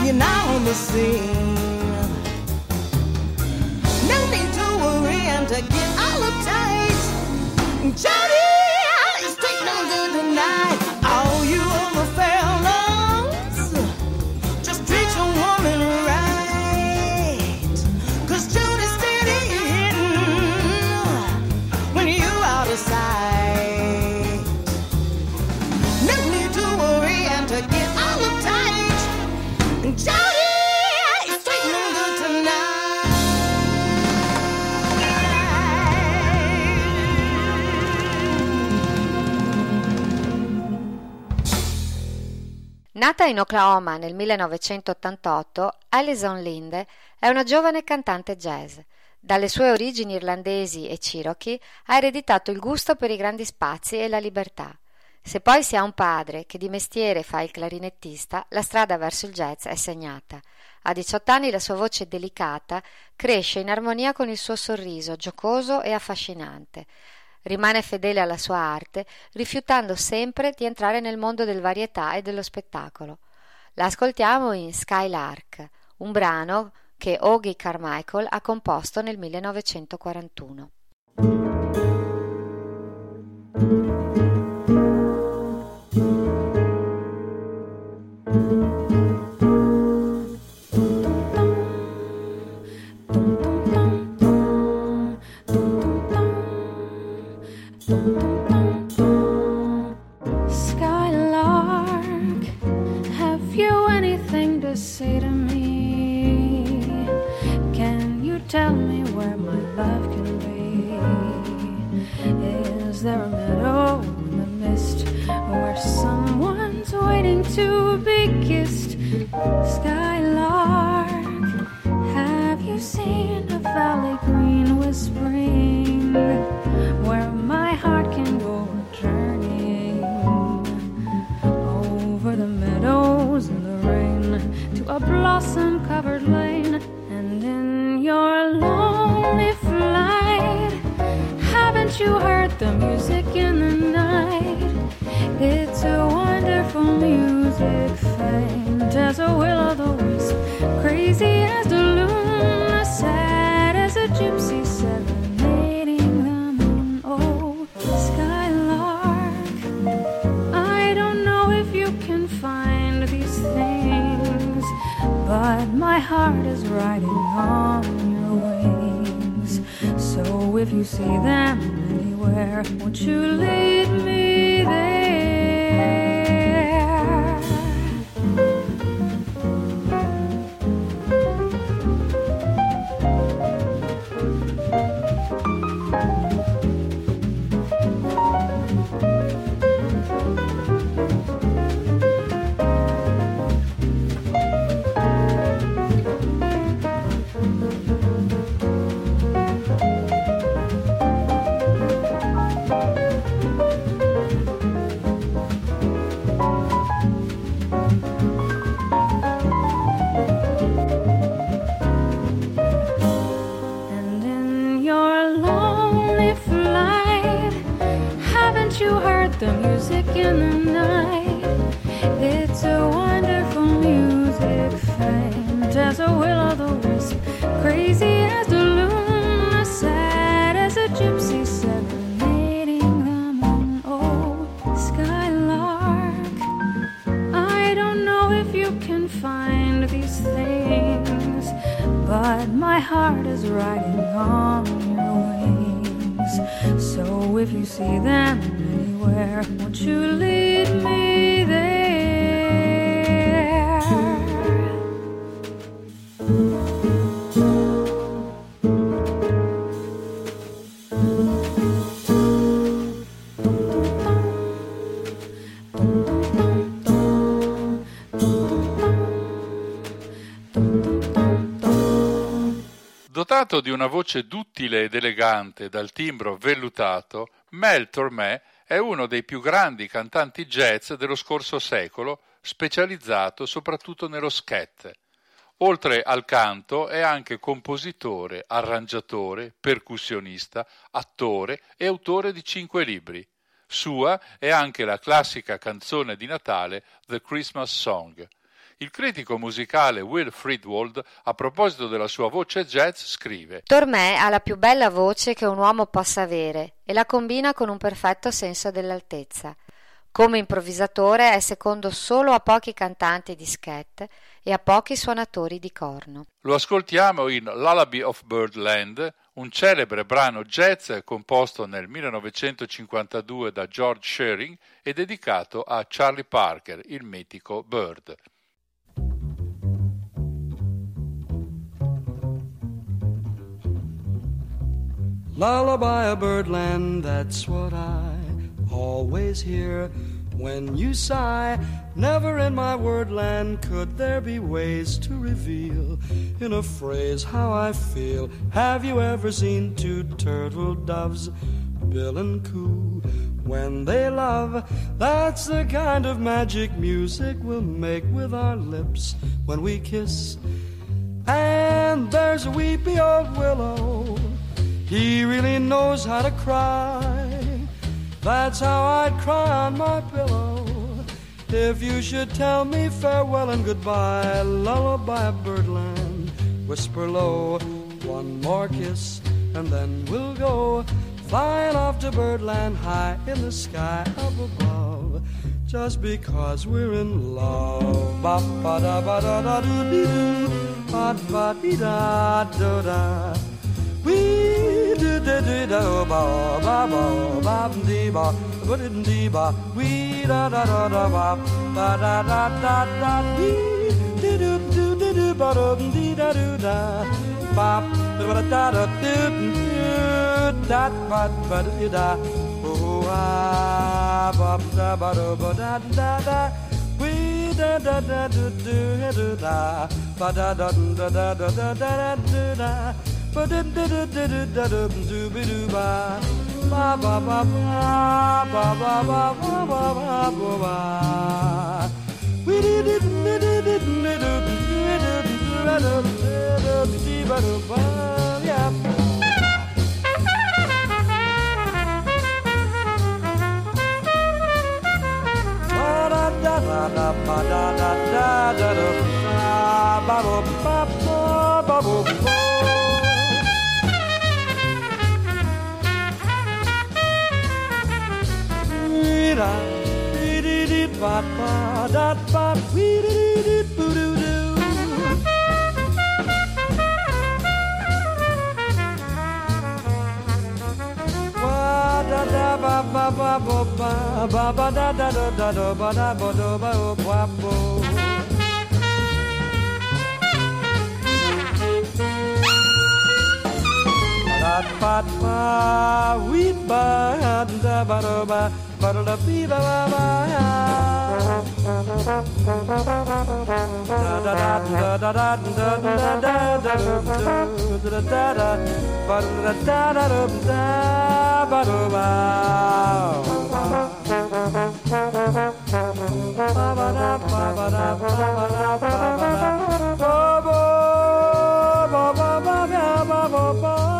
you're now on the scene. No need to worry and to get all uptight. Jody, it's take no good tonight. All you other fellas, just treat your woman right. Cause Jody's steady hitting when you're out of sight. No need to worry and to get all uptight. Jody, it's take no good tonight. Nata in Oklahoma nel millenovecentottantotto, Alison Linde è una giovane cantante jazz. Dalle sue origini irlandesi e cherokee ha ereditato il gusto per i grandi spazi e la libertà. Se poi si ha un padre che di mestiere fa il clarinettista, la strada verso il jazz è segnata. A diciotto anni la sua voce delicata cresce in armonia con il suo sorriso giocoso e affascinante. Rimane fedele alla sua arte, rifiutando sempre di entrare nel mondo del varietà e dello spettacolo. La ascoltiamo in Skylark, un brano che Ogie Carmichael ha composto nel millenovecentoquarantuno. Skylark, have you anything to say to me? Can you tell me where my love can be? Is there a meadow in the mist where someone's waiting to be kissed? Skylark, have you seen a valley green with spring where my heart can go journeying over the meadows in the rain to a blossom-covered lane? And in your lonely flight, haven't you heard the music in the night? It's a wonderful music, faint as a will-o'-the-wisp, crazy as the luna, sad as a gypsy serenading the moon. Oh, Skylark, I don't know if you can find these things, but my heart is riding on your wings. So if you see them anywhere, won't you lead me there? And in your lonely flight, haven't you heard the music in the night? It's a wonderful music, faint as a will-o'-the-wisp, crazy as the luna, sad as a gypsy serenading the moon. Oh, Skylark, I don't know if you can find these things, but my heart is riding on your wings. So if you see them anywhere, won't you lead me there? Dotato di una voce duttile ed elegante dal timbro vellutato, Mel Tormé è uno dei più grandi cantanti jazz dello scorso secolo, specializzato soprattutto nello scat. Oltre al canto è anche compositore, arrangiatore, percussionista, attore e autore di cinque libri. Sua è anche la classica canzone di Natale The Christmas Song. Il critico musicale Will Friedwald, a proposito della sua voce jazz, scrive: Tormé ha la più bella voce che un uomo possa avere e la combina con un perfetto senso dell'altezza. Come improvvisatore è secondo solo a pochi cantanti di scat e a pochi suonatori di corno. Lo ascoltiamo in Lullaby of Birdland, un celebre brano jazz composto nel millenovecentocinquantadue da George Shearing e dedicato a Charlie Parker, il mitico Bird. Lullaby of Birdland, that's what I always hear when you sigh. Never in my wordland could there be ways to reveal in a phrase how I feel. Have you ever seen two turtle doves, bill and coo, when they love? That's the kind of magic music we'll make with our lips when we kiss. And there's a weepy old willow, he really knows how to cry. That's how I'd cry on my pillow if you should tell me farewell and goodbye. Lullaby of Birdland, whisper low, one more kiss and then we'll go flying off to Birdland high in the sky up above, just because we're in love. Ba ba da ba da da doo dee doo, ba ba dee da do da. We do do do do ba ba ba ba dee ba ba dee ba. We da da da da ba ba da da da da. We do do do do do ba da dee da do da. Ba ba da da do do da ba ba dee da. Oh ah ba da ba da ba da da da. We da da da do do do da ba da da da da da da da do da. Ba da da da da da da do be do ba ba ba ba ba ba ba ba ba ba ba ba. We did it did it did it did it did it ba yeah. Ba da da da ba da da da da da ba ba ba ba ba ba. We did it ba ba da ba we did it boo doo doo. Wa da da ba ba ba ba ba ba ba da da da da da ba da ba da ba ba ba. Da ba ba we ba da ba da ba. Ba da ba ba ba da da da da da da da da da da da da da ba da da da da ba da ba ba ba da ba ba da ba ba da ba ba ba ba ba ba ba ba ba.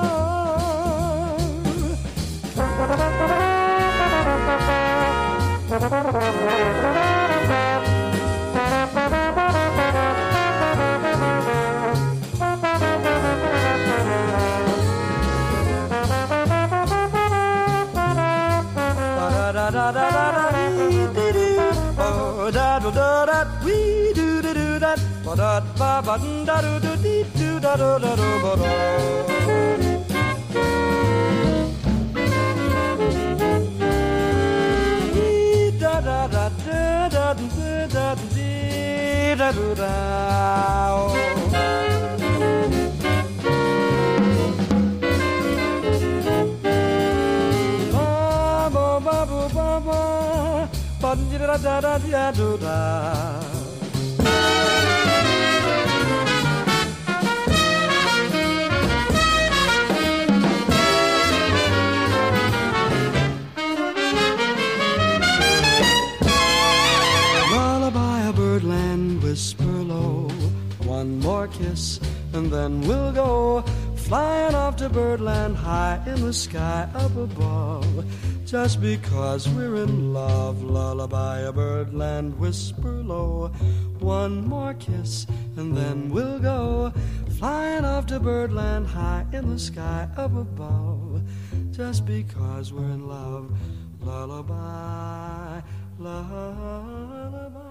Lullaby of Birdland, whisper low, one more kiss and then we'll go flying off to Birdland high in the sky up above, just because we're in love. Lullaby a birdland, whisper low, one more kiss and then we'll go flying off to birdland high in the sky up above, just because we're in love. Lullaby, lullaby.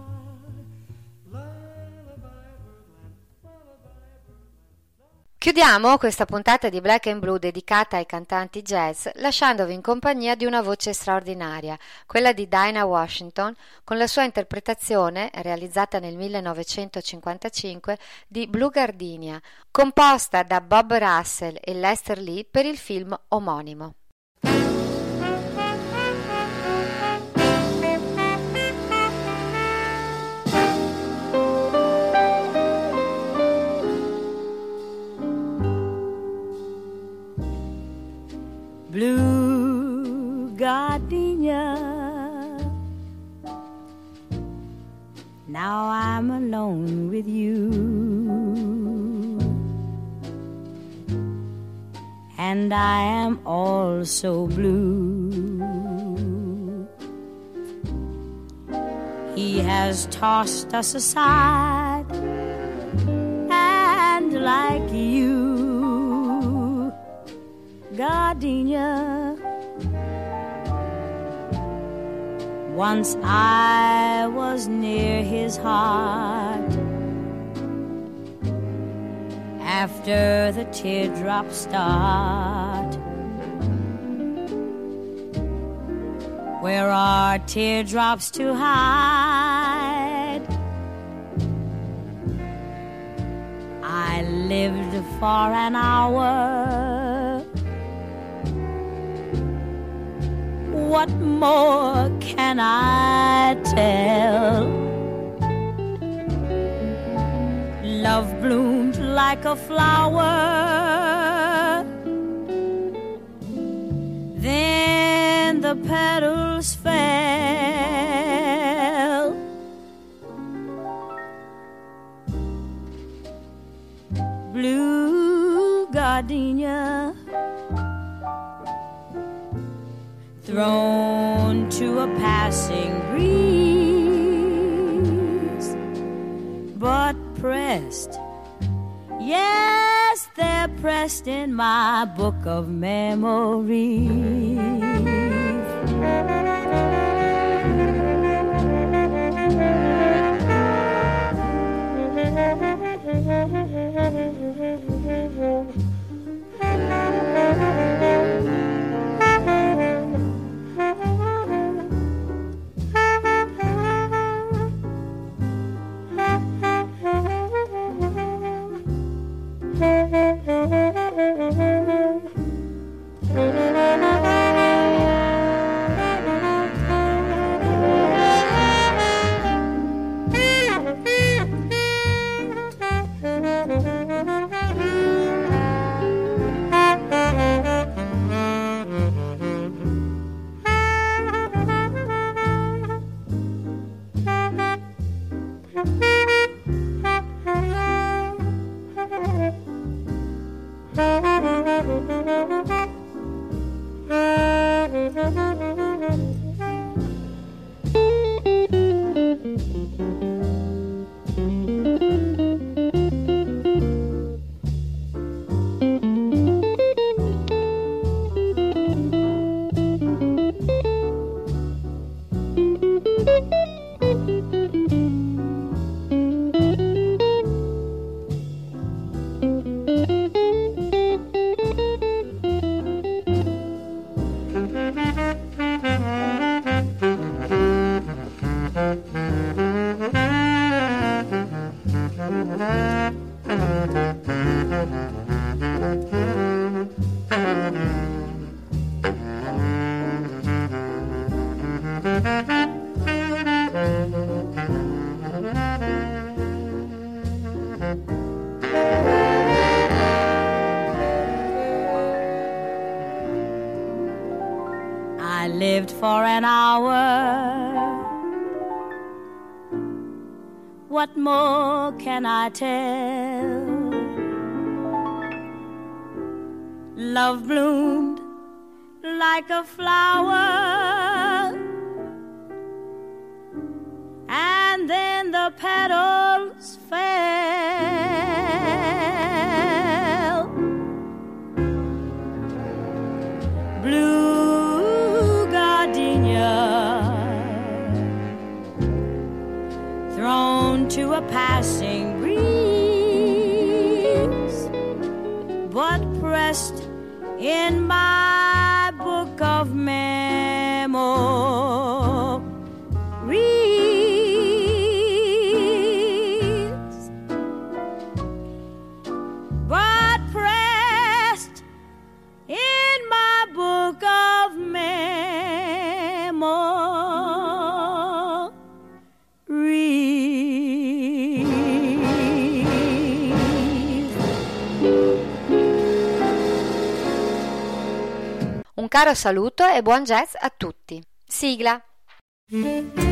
Chiudiamo questa puntata di Black and Blue dedicata ai cantanti jazz lasciandovi in compagnia di una voce straordinaria, quella di Dinah Washington, con la sua interpretazione, realizzata nel millenovecentocinquantacinque, di Blue Gardenia, composta da Bob Russell e Lester Lee per il film omonimo. Blue gardenia, now I'm alone with you, and I am all so blue. He has tossed us aside, and like you, gardenia, once I was near his heart. After the teardrops start, where are teardrops to hide? I lived for an hour. What more can I tell? Love bloomed like a flower, then the petals fell. Blue gardenia, thrown to a passing breeze, but pressed, yes, they're pressed in my book of memories. I lived for an hour. What more can I tell? Love bloomed like a flower, and then the petals fell. Blue gardenia thrown to a passing breeze, but pressed in my book of memories, but pressed in my book of memories. Un caro saluto e buon jazz a tutti. Sigla.